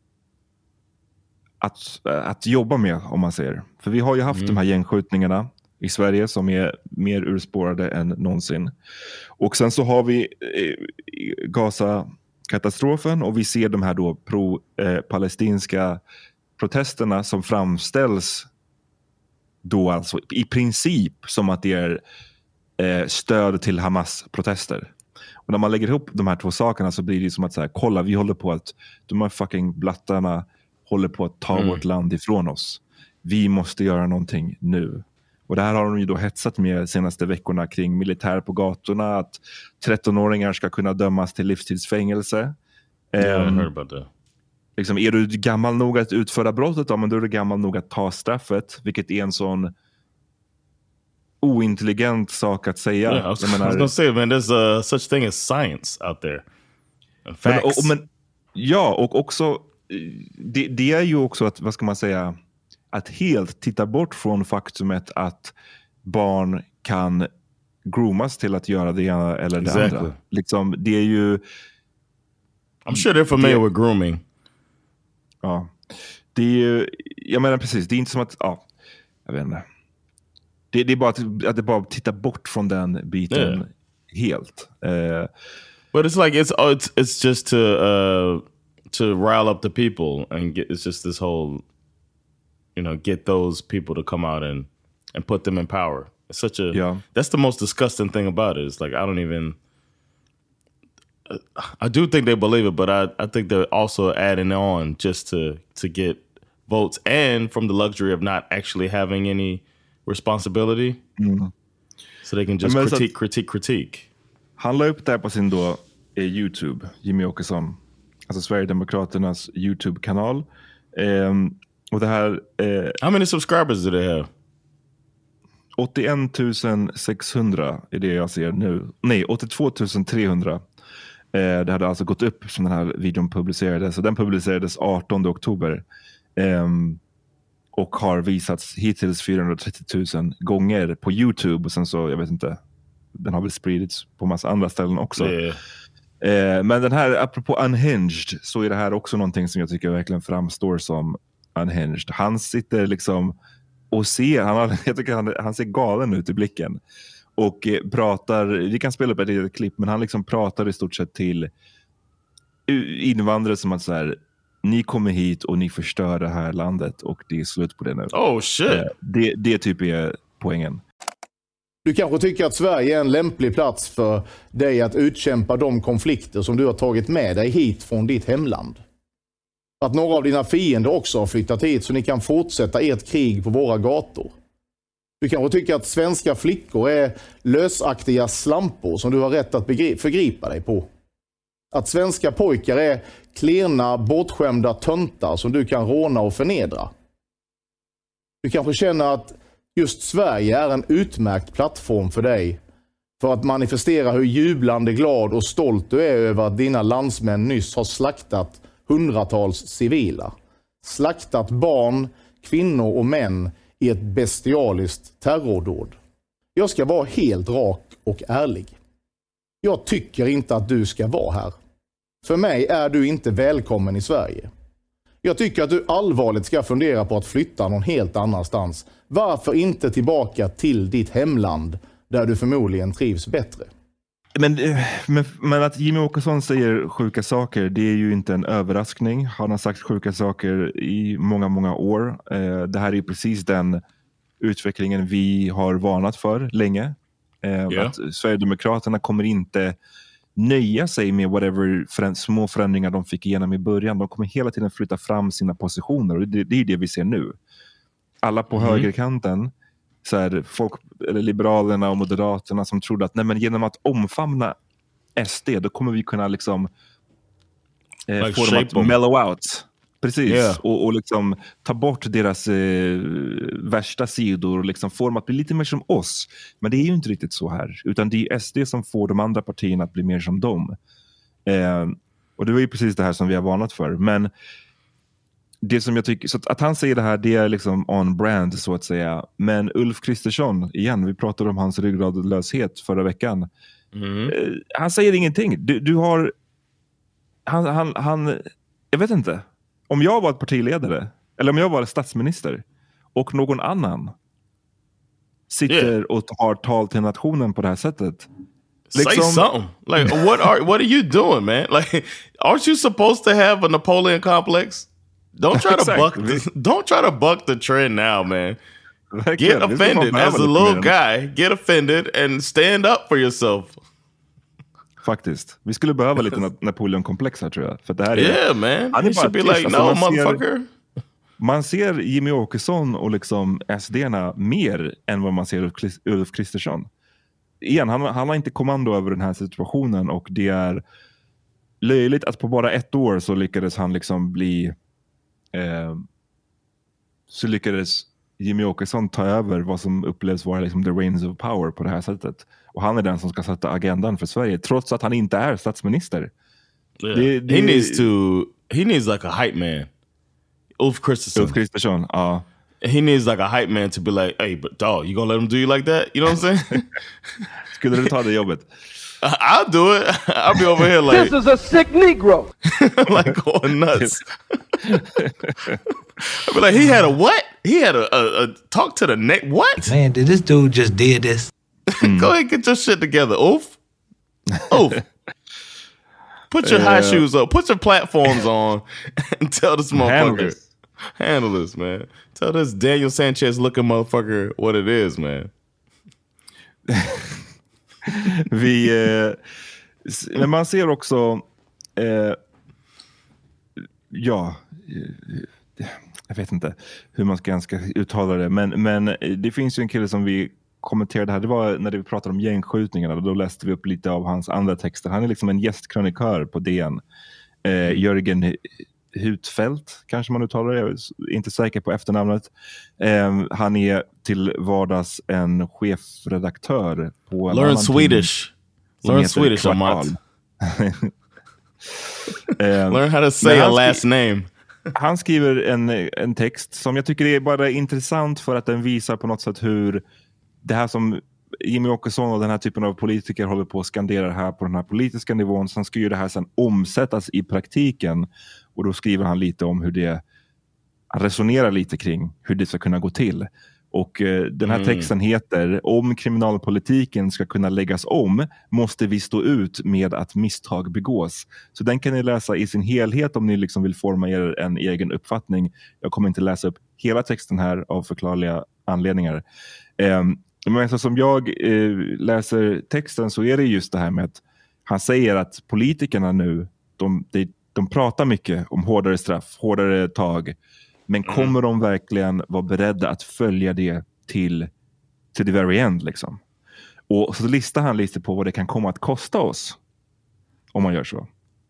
att jobba med, om man säger. För vi har ju haft de här gängskjutningarna i Sverige som är mer urspårade än någonsin. Och sen så har vi Gaza-katastrofen och vi ser de här då pro-palestinska protesterna som framställs då alltså i princip som att det är stöd till Hamas-protester. Och när man lägger ihop de här två sakerna så blir det som att så här, kolla, vi håller på att de här fucking blattarna håller på att ta vårt land ifrån oss. Vi måste göra någonting nu. Och det här har de ju då hetsat med de senaste veckorna kring militär på gatorna, att 13-åringar ska kunna dömas till livstidsfängelse. I heard about that. Liksom, är du gammal nog att utföra brottet, då, men då är du gammal nog att ta straffet, vilket är en sån ointelligent sak att säga. Yeah, I was gonna say, man, there's such thing as science out there. Facts. Ja, och också det är ju också att, vad ska man säga, att helt titta bort från faktumet att barn kan groomas till att göra det ena eller det andra. Liksom, det är ju... I'm sure they're familiar with grooming. Ja. Det är ju... Jag menar precis, det är inte som att... Ja, jag vet inte. Det är bara att det bara titta bort från den biten helt. But it's like it's just to rile up the people and it's just this whole, you know, get those people to come out and put them in power. It's such a that's the most disgusting thing about it. It's like I do think they believe it, but I think they're also adding on just to get votes and from the luxury of not actually having any responsibility. So they can just critique. Han la upp det här på sin då YouTube, Jimmy Åkesson, alltså Sverigedemokraternas YouTube-kanal. Och det här... How many subscribers do they have? 81 600 är det jag ser nu. Nej, 82 300. Det hade alltså gått upp som den här videon publicerades. Så den publicerades 18 oktober. Och har visats hittills 430 000 gånger på YouTube. Och sen så, jag vet inte, den har väl spridits på massa andra ställen också. Men den här, apropå unhinged, så är det här också någonting som jag tycker verkligen framstår som unhinged. Han sitter liksom och ser, jag tycker han ser galen ut i blicken. Och pratar, vi kan spela upp ett litet klipp, men han liksom pratar i stort sett till invandrare som att så här, ni kommer hit och ni förstör det här landet och det är slut på det nu. Oh shit. Det typ är poängen. Du kanske tycker att Sverige är en lämplig plats för dig att utkämpa de konflikter som du har tagit med dig hit från ditt hemland. Att några av dina fiender också har flyttat hit så ni kan fortsätta ert krig på våra gator. Du kanske tycker att svenska flickor är lösaktiga slampor som du har rätt att förgripa dig på. Att svenska pojkar är klena, bortskämda töntar som du kan råna och förnedra. Du kanske känner att just Sverige är en utmärkt plattform för dig för att manifestera hur jublande glad och stolt du är över att dina landsmän nyss har slaktat hundratals civila. Slaktat barn, kvinnor och män i ett bestialiskt terrordåd. Jag ska vara helt rak och ärlig. Jag tycker inte att du ska vara här. För mig är du inte välkommen i Sverige. Jag tycker att du allvarligt ska fundera på att flytta någon helt annanstans. Varför inte tillbaka till ditt hemland där du förmodligen trivs bättre? Men att Jimmy Åkesson säger sjuka saker, det är ju inte en överraskning. Han har sagt sjuka saker i många, många år. Det här är precis den utvecklingen vi har varnat för länge. Att Sverigedemokraterna kommer inte nöja sig med whatever små förändringar de fick igenom i början. De kommer hela tiden flytta fram sina positioner och det är det vi ser nu. Alla på högerkanten, så här, folk, eller Liberalerna och Moderaterna som trodde att nej, men genom att omfamna SD då kommer vi kunna liksom få dem att mellow out. Precis, och liksom ta bort deras värsta sidor och liksom få dem att bli lite mer som oss. Men det är ju inte riktigt så här. Utan det är SD som får de andra partierna att bli mer som dem. Och det var ju precis det här som vi har varnat för. Men det som jag tycker, så att han säger det här, det är liksom on brand så att säga. Men Ulf Kristersson, igen, vi pratade om hans ryggradlöshet förra veckan. Han säger ingenting. Du har han jag vet inte. Om jag var ett partiledare eller om jag var statsminister och någon annan sitter och har tal till nationen på det här sättet. Say something. Like what are you doing, man? Like, aren't you supposed to have a Napoleon complex? Don't try to buck the trend now, man. Get offended as a little guy. Get offended and stand up for yourself. Faktiskt. Vi skulle behöva lite Napoleon-komplex här, tror jag. För det här är, man. Han should be like, no, motherfucker. Man ser Jimmy Åkesson och liksom SD-erna mer än vad man ser Ulf Kristersson. Igen, han har inte kommando över den här situationen, och det är löjligt att på bara 1 år så lyckades han liksom bli så lyckades Jimmy Åkesson ta över vad som upplevs vara liksom the reins of power på det här sättet. Och han är den som ska sätta agendan för Sverige, trots att han inte är statsminister. Yeah. He needs like a hype man. Ulf Kristersson, ja. He needs like a hype man to be like, hey, but dog, you gonna let him do you like that? You know what I'm saying? Skulle du ta det jobbet? I'll do it. I'll be over here like, this is a sick Negro. Like going nuts. I'll be like, he had a what? He had a talk to the neck. What? Man, did this dude just did this? Go ahead and get your shit together, Ulf. Put your high shoes up. Put your platforms on and tell this motherfucker. Handle this, man. Tell this Daniel Sanchez looking motherfucker what it is, man. Men man ser också jag vet inte hur man ska uttala det, men det finns ju en kille som vi kommenterade här, det var när vi pratade om gängskjutningarna, då läste vi upp lite av hans andra texter. Han är liksom en gästkrönikör på DN. Jörgen Hutfeldt, kanske man uttalar det, jag är inte säker på efternamnet. Han är till vardags en chefredaktör på Learn Swedish. Learn Swedish, Amat. Learn how to say a last name. Han skriver en text som jag tycker är bara intressant, för att den visar på något sätt hur det här som Jimmy Åkesson och den här typen av politiker håller på att skandera här på den här politiska nivån, sen ska ju det här sen omsättas i praktiken, och då skriver han lite om hur det, han resonerar lite kring hur det ska kunna gå till. Och den här texten heter: om kriminalpolitiken ska kunna läggas om måste vi stå ut med att misstag begås. Så den kan ni läsa i sin helhet om ni liksom vill forma er en egen uppfattning. Jag kommer inte läsa upp hela texten här av förklarliga anledningar. Men så som jag läser texten så är det just det här med att han säger att politikerna nu, de pratar mycket om hårdare straff, hårdare tag, men kommer de verkligen vara beredda att följa det till the very end liksom? Och så listar han lite på vad det kan komma att kosta oss om man gör så.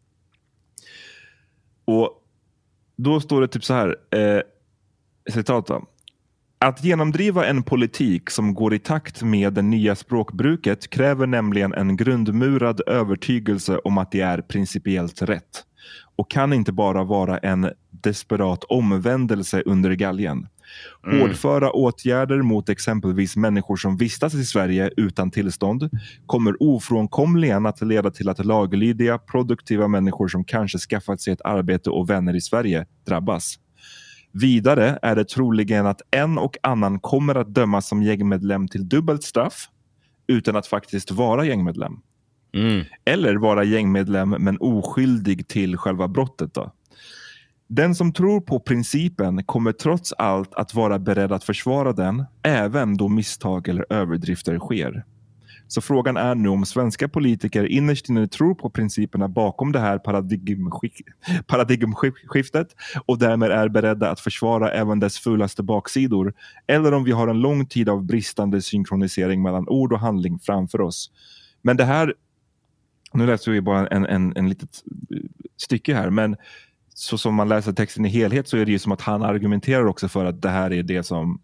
Och då står det typ så här, citat då: att genomdriva en politik som går i takt med det nya språkbruket kräver nämligen en grundmurad övertygelse om att det är principiellt rätt, och kan inte bara vara en desperat omvändelse under galgen. Hårdföra åtgärder mot exempelvis människor som vistas i Sverige utan tillstånd kommer ofrånkomligen att leda till att laglydiga, produktiva människor som kanske skaffat sig ett arbete och vänner i Sverige drabbas. Vidare är det troligen att en och annan kommer att dömas som gängmedlem till dubbelt straff utan att faktiskt vara gängmedlem. Eller vara gängmedlem men oskyldig till själva brottet då. Den som tror på principen kommer trots allt att vara beredd att försvara den även då misstag eller överdrifter sker. Så frågan är nu om svenska politiker innerst inne tror på principerna bakom det här paradigmskiftet och därmed är beredda att försvara även dess fulaste baksidor, eller om vi har en lång tid av bristande synkronisering mellan ord och handling framför oss. Men det här, nu läser vi bara en litet stycke här, men så som man läser texten i helhet så är det ju som att han argumenterar också för att det här är det som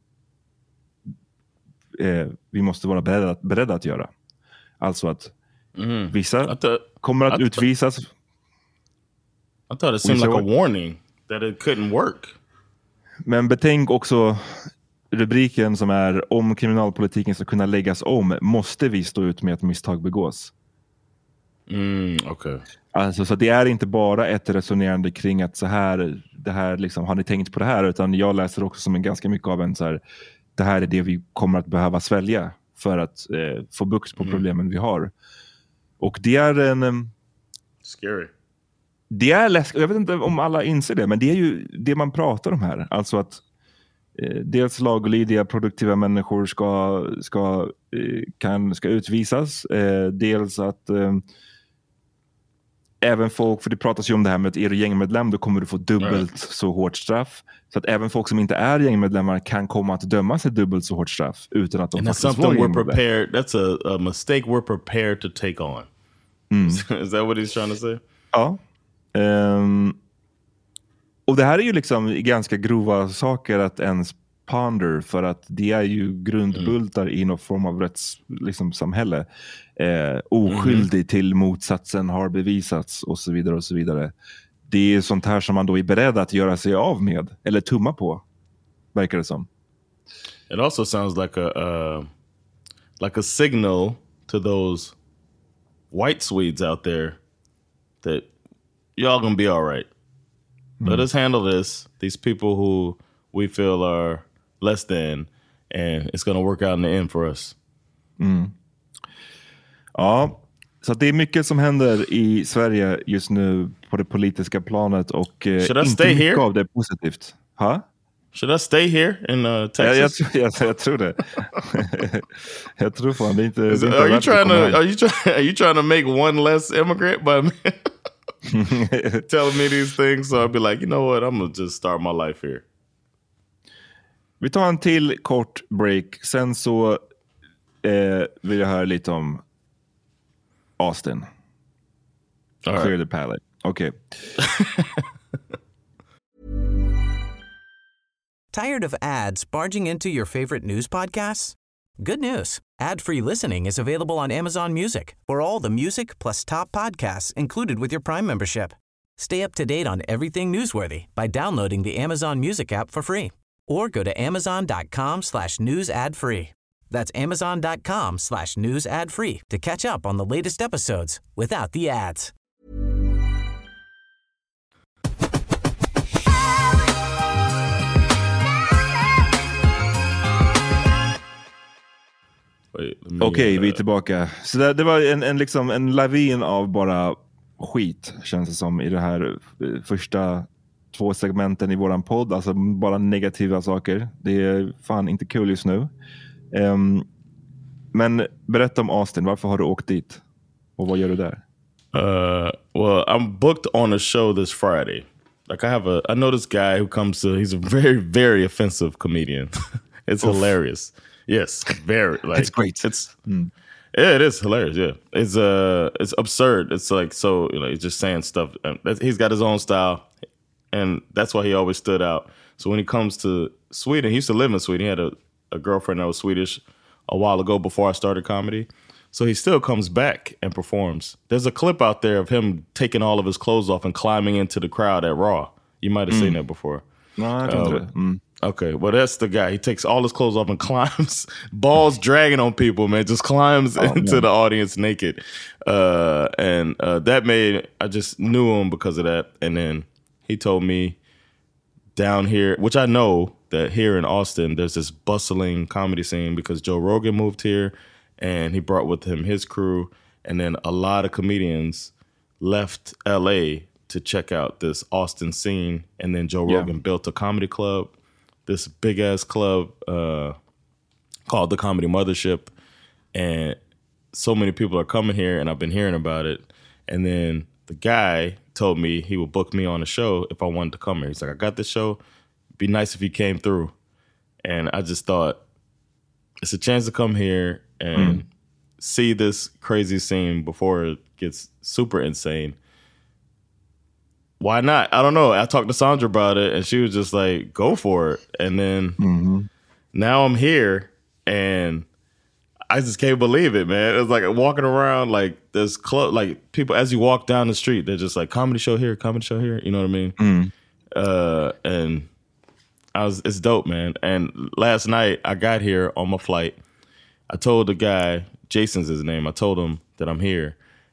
vi måste vara beredda att göra. Alltså att vissa kommer att utvisas. I thought it seemed like a warning that it couldn't work. Men betänk också rubriken som är: om kriminalpolitiken ska kunna läggas om måste vi stå ut med att misstag begås. Okay. Alltså, så det är inte bara ett resonerande kring att så här, det här liksom, har ni tänkt på det här? Utan jag läser också som en ganska mycket av en så här, det här är det vi kommer att behöva svälja för att få bukt på problemen vi har. Och det är en... Scary. Det är läskigt. Jag vet inte om alla inser det, men det är ju det man pratar om här. Alltså att dels laglydiga, produktiva människor ska utvisas. Dels att även folk, för det pratas ju om det här med att är du gängmedlem då kommer du få dubbelt så hårt straff. Så att även folk som inte är gängmedlemmar kan komma att dömas ett dubbelt så hårt straff utan att de and faktiskt that's something var we're prepared. That's a mistake we're prepared to take on. Is that what he's trying to say? Ja. Och det här är ju liksom ganska grova saker att ens ponder, för att det är ju grundbultar i någon form av rättssamhälle. Oskyldig till motsatsen har bevisats och så vidare och så vidare. Det är sånt här som man då är beredd att göra sig av med eller tumma på, verkar det som. It also sounds like a signal to those white Swedes out there that y'all gonna be all right. Let us handle this. These people who we feel are less than, and it's gonna work out in the end for us. Ja, så det är mycket som händer i Sverige just nu på det politiska planet och inte mycket av det är positivt. Should I stay here in Texas? Jag tror det. Jag tror fan det är inte. Are you trying to make one less immigrant by telling me these things? So I'll be like, you know what? I'm gonna just start my life here. Vi tar en till kort break. Sen så vill jag höra lite om Austin. Clear the palate. Okay. Tired of ads barging into your favorite news podcasts? Good news. Ad-free listening is available on Amazon Music for all the music plus top podcasts included with your Prime membership. Stay up to date on everything newsworthy by downloading the Amazon Music app for free or go to amazon.com/news ad free. That's amazon.com/news ad free to catch up on the latest episodes without the ads. Okej, vi är tillbaka. Så det var en lavin av bara skit, känns det som, i det här första 2 segmenten i våran podd. Alltså bara negativa saker. Det är fan inte kul just nu. Men berätta om Austin. Varför har du åkt dit? Och vad gör du där? Well, I'm booked on a show this Friday. Like I know this guy who comes to, he's a very, very offensive comedian. It's hilarious. Yes, very. Like, it's great. Yeah, it is hilarious. Yeah, it's absurd. It's like, so, you know, he's just saying stuff. He's got his own style, and that's why he always stood out. So when he comes to Sweden, he used to live in Sweden. He had a girlfriend that was Swedish a while ago before I started comedy. So he still comes back and performs. There's a clip out there of him taking all of his clothes off and climbing into the crowd at Raw. You might have seen that before. No, I don't. Okay, well, that's the guy. He takes all his clothes off and climbs, balls dragging on people, man. Just climbs into the audience naked. And that made, I just knew him because of that. And then he told me down here, which I know that here in Austin, there's this bustling comedy scene because Joe Rogan moved here and he brought with him his crew. And then a lot of comedians left LA to check out this Austin scene. And then Joe Rogan built a comedy club. This big ass club called the Comedy Mothership, and so many people are coming here, and I've been hearing about it. And then the guy told me he would book me on a show if I wanted to come here. He's like, I got this show. It'd be nice if you came through. And I just thought, it's a chance to come here and see this crazy scene before it gets super insane. Why not? I don't know. I talked to Sandra about it, and she was just like, go for it. And then now I'm here, and I just can't believe it, man. It's like walking around, like, there's like people, as you walk down the street, they're just like, comedy show here, you know what I mean? And it's dope, man. And last night, I got here on my flight. I told the guy, Jason's his name, I told him that I'm here.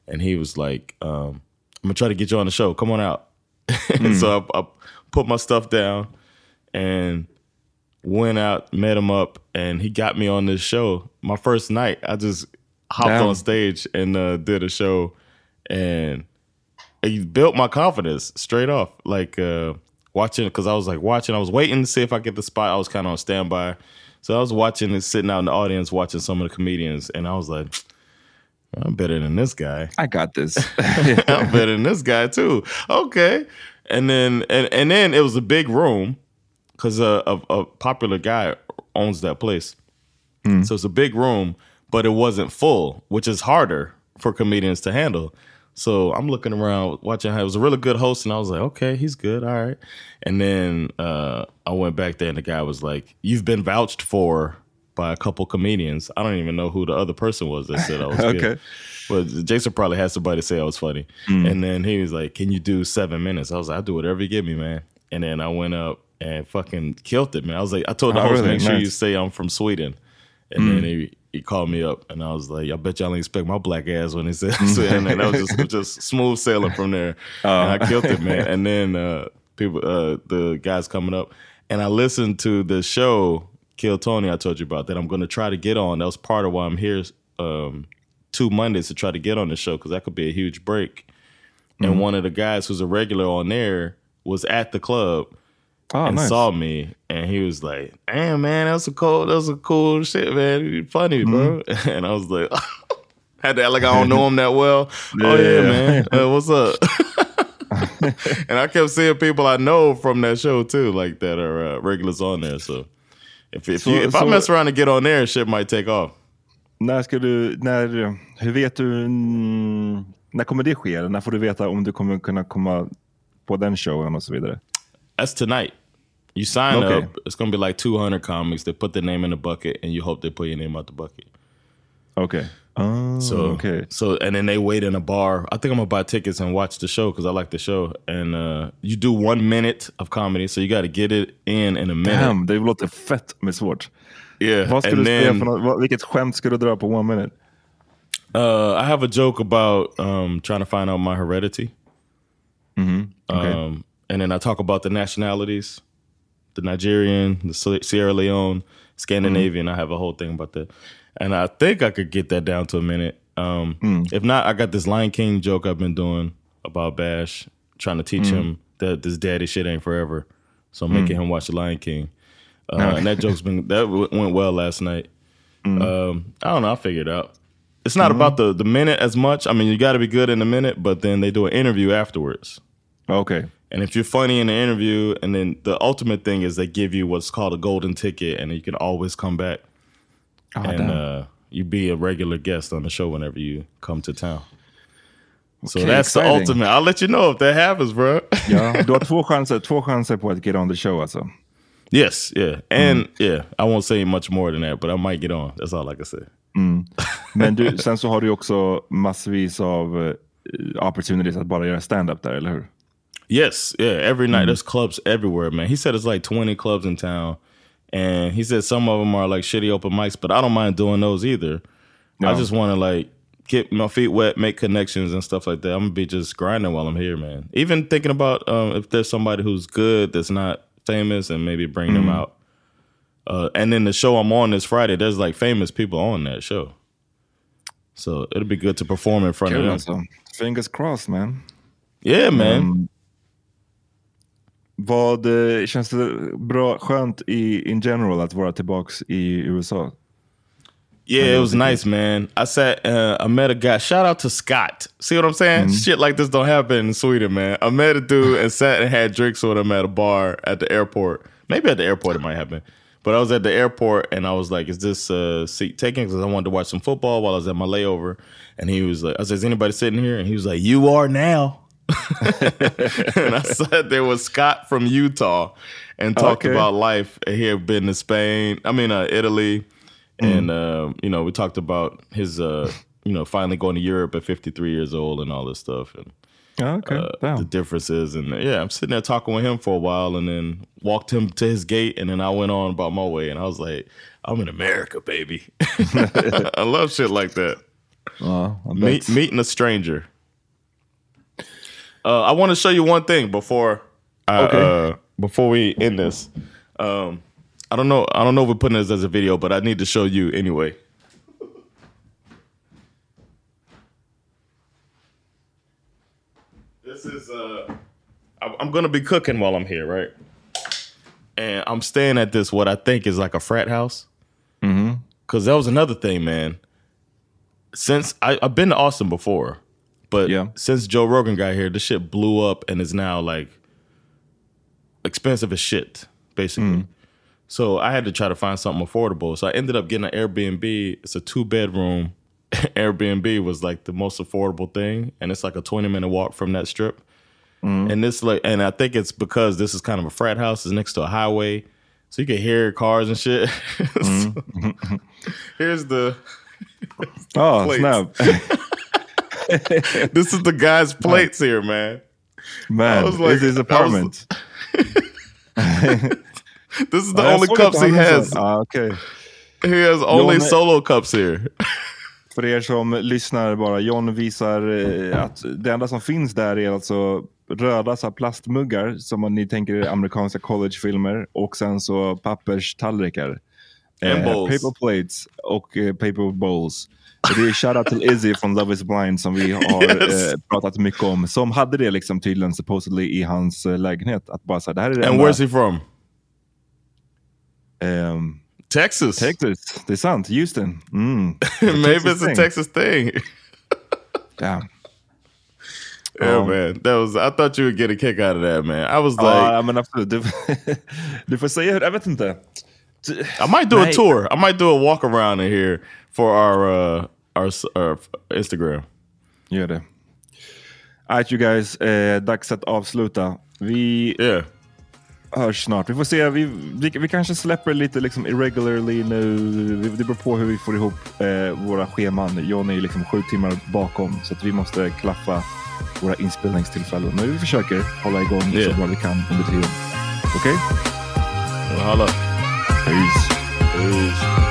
and he was like, I'm gonna try to get you on the show. Come on out. So I put my stuff down and went out, met him up, and he got me on this show. My first night, I just hopped on stage and did a show, and it built my confidence straight off. Like watching, because I was waiting to see if I get the spot. I was kind of on standby. So I was watching and sitting out in the audience watching some of the comedians, and I was like, I'm better than this guy. I got this. I'm better than this guy too. Okay. And then it was a big room because a popular guy owns that place. So it's a big room, but it wasn't full, which is harder for comedians to handle. So I'm looking around watching how it was a really good host, and I was like, okay, he's good. All right. And then I went back there and the guy was like, you've been vouched for by a couple comedians. I don't even know who the other person was that said I was good. Okay. But Jason probably had somebody say I was funny. And then he was like, can you do 7 minutes? I was like, I'll do whatever you give me, man. And then I went up and fucking killed it, man. I was like, I told the host, make sure you say I'm from Sweden. And then he called me up, and I was like, I bet y'all didn't expect my black ass when he said Sweden. And that was just smooth sailing from there. And I killed it, man. And then the guys coming up, and I listened to the show Kill Tony I told you about that I'm going to try to get on. That was part of why I'm here 2 Mondays to try to get on the show, because that could be a huge break. And one of the guys who's a regular on there was at the club and saw me, and he was like, damn, man, that was a cool shit, man. You're funny, bro. And I was like, had to act like I don't know him that well. Oh, yeah, man. What's up? And I kept seeing people I know from that show, too, like that are regulars on there. So if I mess around and get on there, shit might take off. Hur vet du, när kommer det ske? När får du veta om du kommer kunna komma på den showen och så vidare? That's tonight. You sign up, it's going to be like 200 comics. They put their name in the bucket, and you hope they put your name out the bucket. Okay. So and then they wait in a bar. I think I'm going to buy tickets and watch the show because I like the show. And you do 1 minute of comedy, so you got to get it in a minute. Damn, det låter fett med svårt. Yeah. Vad ska du säga för något? Vilket skämt ska du dra på 1 minute? I have a joke about trying to find out my heredity. Okay. And then I talk about the nationalities, the Nigerian, the Sierra Leone, Scandinavian. I have a whole thing about that. And I think I could get that down to a minute. If not, I got this Lion King joke I've been doing about Bash, trying to teach him that this daddy shit ain't forever. So I'm making him watch the Lion King. And that went well last night. I don't know, I'll figure it out. It's not about the minute as much. I mean, you got to be good in the minute, but then they do an interview afterwards. Okay. And if you're funny in the interview, and then the ultimate thing is they give you what's called a golden ticket, and you can always come back. You be a regular guest on the show whenever you come to town. So that's exciting. The ultimate. I'll let you know if that happens, bro. Ja, du har två chanser på att get on the show alltså. Yes, yeah. And yeah, I won't say much more than that, but I might get on. That's all I can say. Men sen så har du också massvis av opportunities att bara göra stand-up där, eller hur? Yes, yeah. Every night, there's clubs everywhere, man. He said it's like 20 clubs in town. And he said some of them are like shitty open mics, but I don't mind doing those either. No. I just want to like get my feet wet, make connections and stuff like that. I'm going to be just grinding while I'm here, man. Even thinking about if there's somebody who's good that's not famous and maybe bring them out. And then the show I'm on this Friday, there's like famous people on that show. So it'll be good to perform in front of them. So. Fingers crossed, man. Yeah, man. Vad känns det bra, skönt in general att vara tillbaks i USA? Yeah, it was nice, man. I met a guy. Shout out to Scott. See what I'm saying? Shit like this don't happen in Sweden, man. I met a dude and sat and had drinks with him at a bar at the airport. Maybe at the airport it might happen. But I was at the airport and I was like, is this seat taken? Because I wanted to watch some football while I was at my layover. And he was like, I said, is anybody sitting here? And he was like, you are now. And I said there was Scott from Utah and talked about life. He had been to Italy. And, we talked about his, finally going to Europe at 53 years old and all this stuff. And the differences. And I'm sitting there talking with him for a while and then walked him to his gate. And then I went on about my way. And I was like, I'm in America, baby. I love shit like that. Meeting a stranger. I want to show you one thing before we end this. I don't know if we're putting this as a video, but I need to show you anyway. This is I'm gonna be cooking while I'm here, right? And I'm staying at this what I think is like a frat house. Mm-hmm. Cause that was another thing, man. Since I've been to Austin before, but since Joe Rogan got here, this shit blew up and is now like expensive as shit, basically. So I had to try to find something affordable. So I ended up getting an Airbnb. It's a 2-bedroom. Airbnb was like the most affordable thing, and it's like a 20-minute walk from that strip. And this and I think it's because this is kind of a frat house. It's next to a highway, so you can hear cars and shit. So, here's the snap. This is the guy's plates here, man. Man, this is his apartment. This is the only cups he has. Okay. He has only solo cups here. För er som lyssnar bara, John visar att det enda som finns där är alltså röda så plastmuggar som ni tänker är amerikanska collegefilmer, och sen så papperstallrikar. Paper plates och paper bowls. Det är shoutout till Izzy från Love is Blind som vi har pratat mycket om. Som hade det liksom tydligen supposedly i hans lägenhet. Att bara så, det här är det And where's he from? Texas. Det är sant. Houston. Maybe it's a Texas thing. Damn. Yeah, man. I thought you would get a kick out of that, man. I was like... men absolut. Du får säga hur, jag vet inte. I might do a tour. I might do a walk around in here for our Instagram. Gör det. Alright, you guys. Dags att avsluta. Vi hörs snart. Vi får se. Vi kanske släpper lite liksom irregularly nu. Det beror på hur vi får ihop våra scheman. John är liksom 7 timmar bakom, så att vi måste klaffa våra inspelningstillfällen. Men vi försöker hålla igång så bra vi kan under tiden. Okej? Hallå. Peace.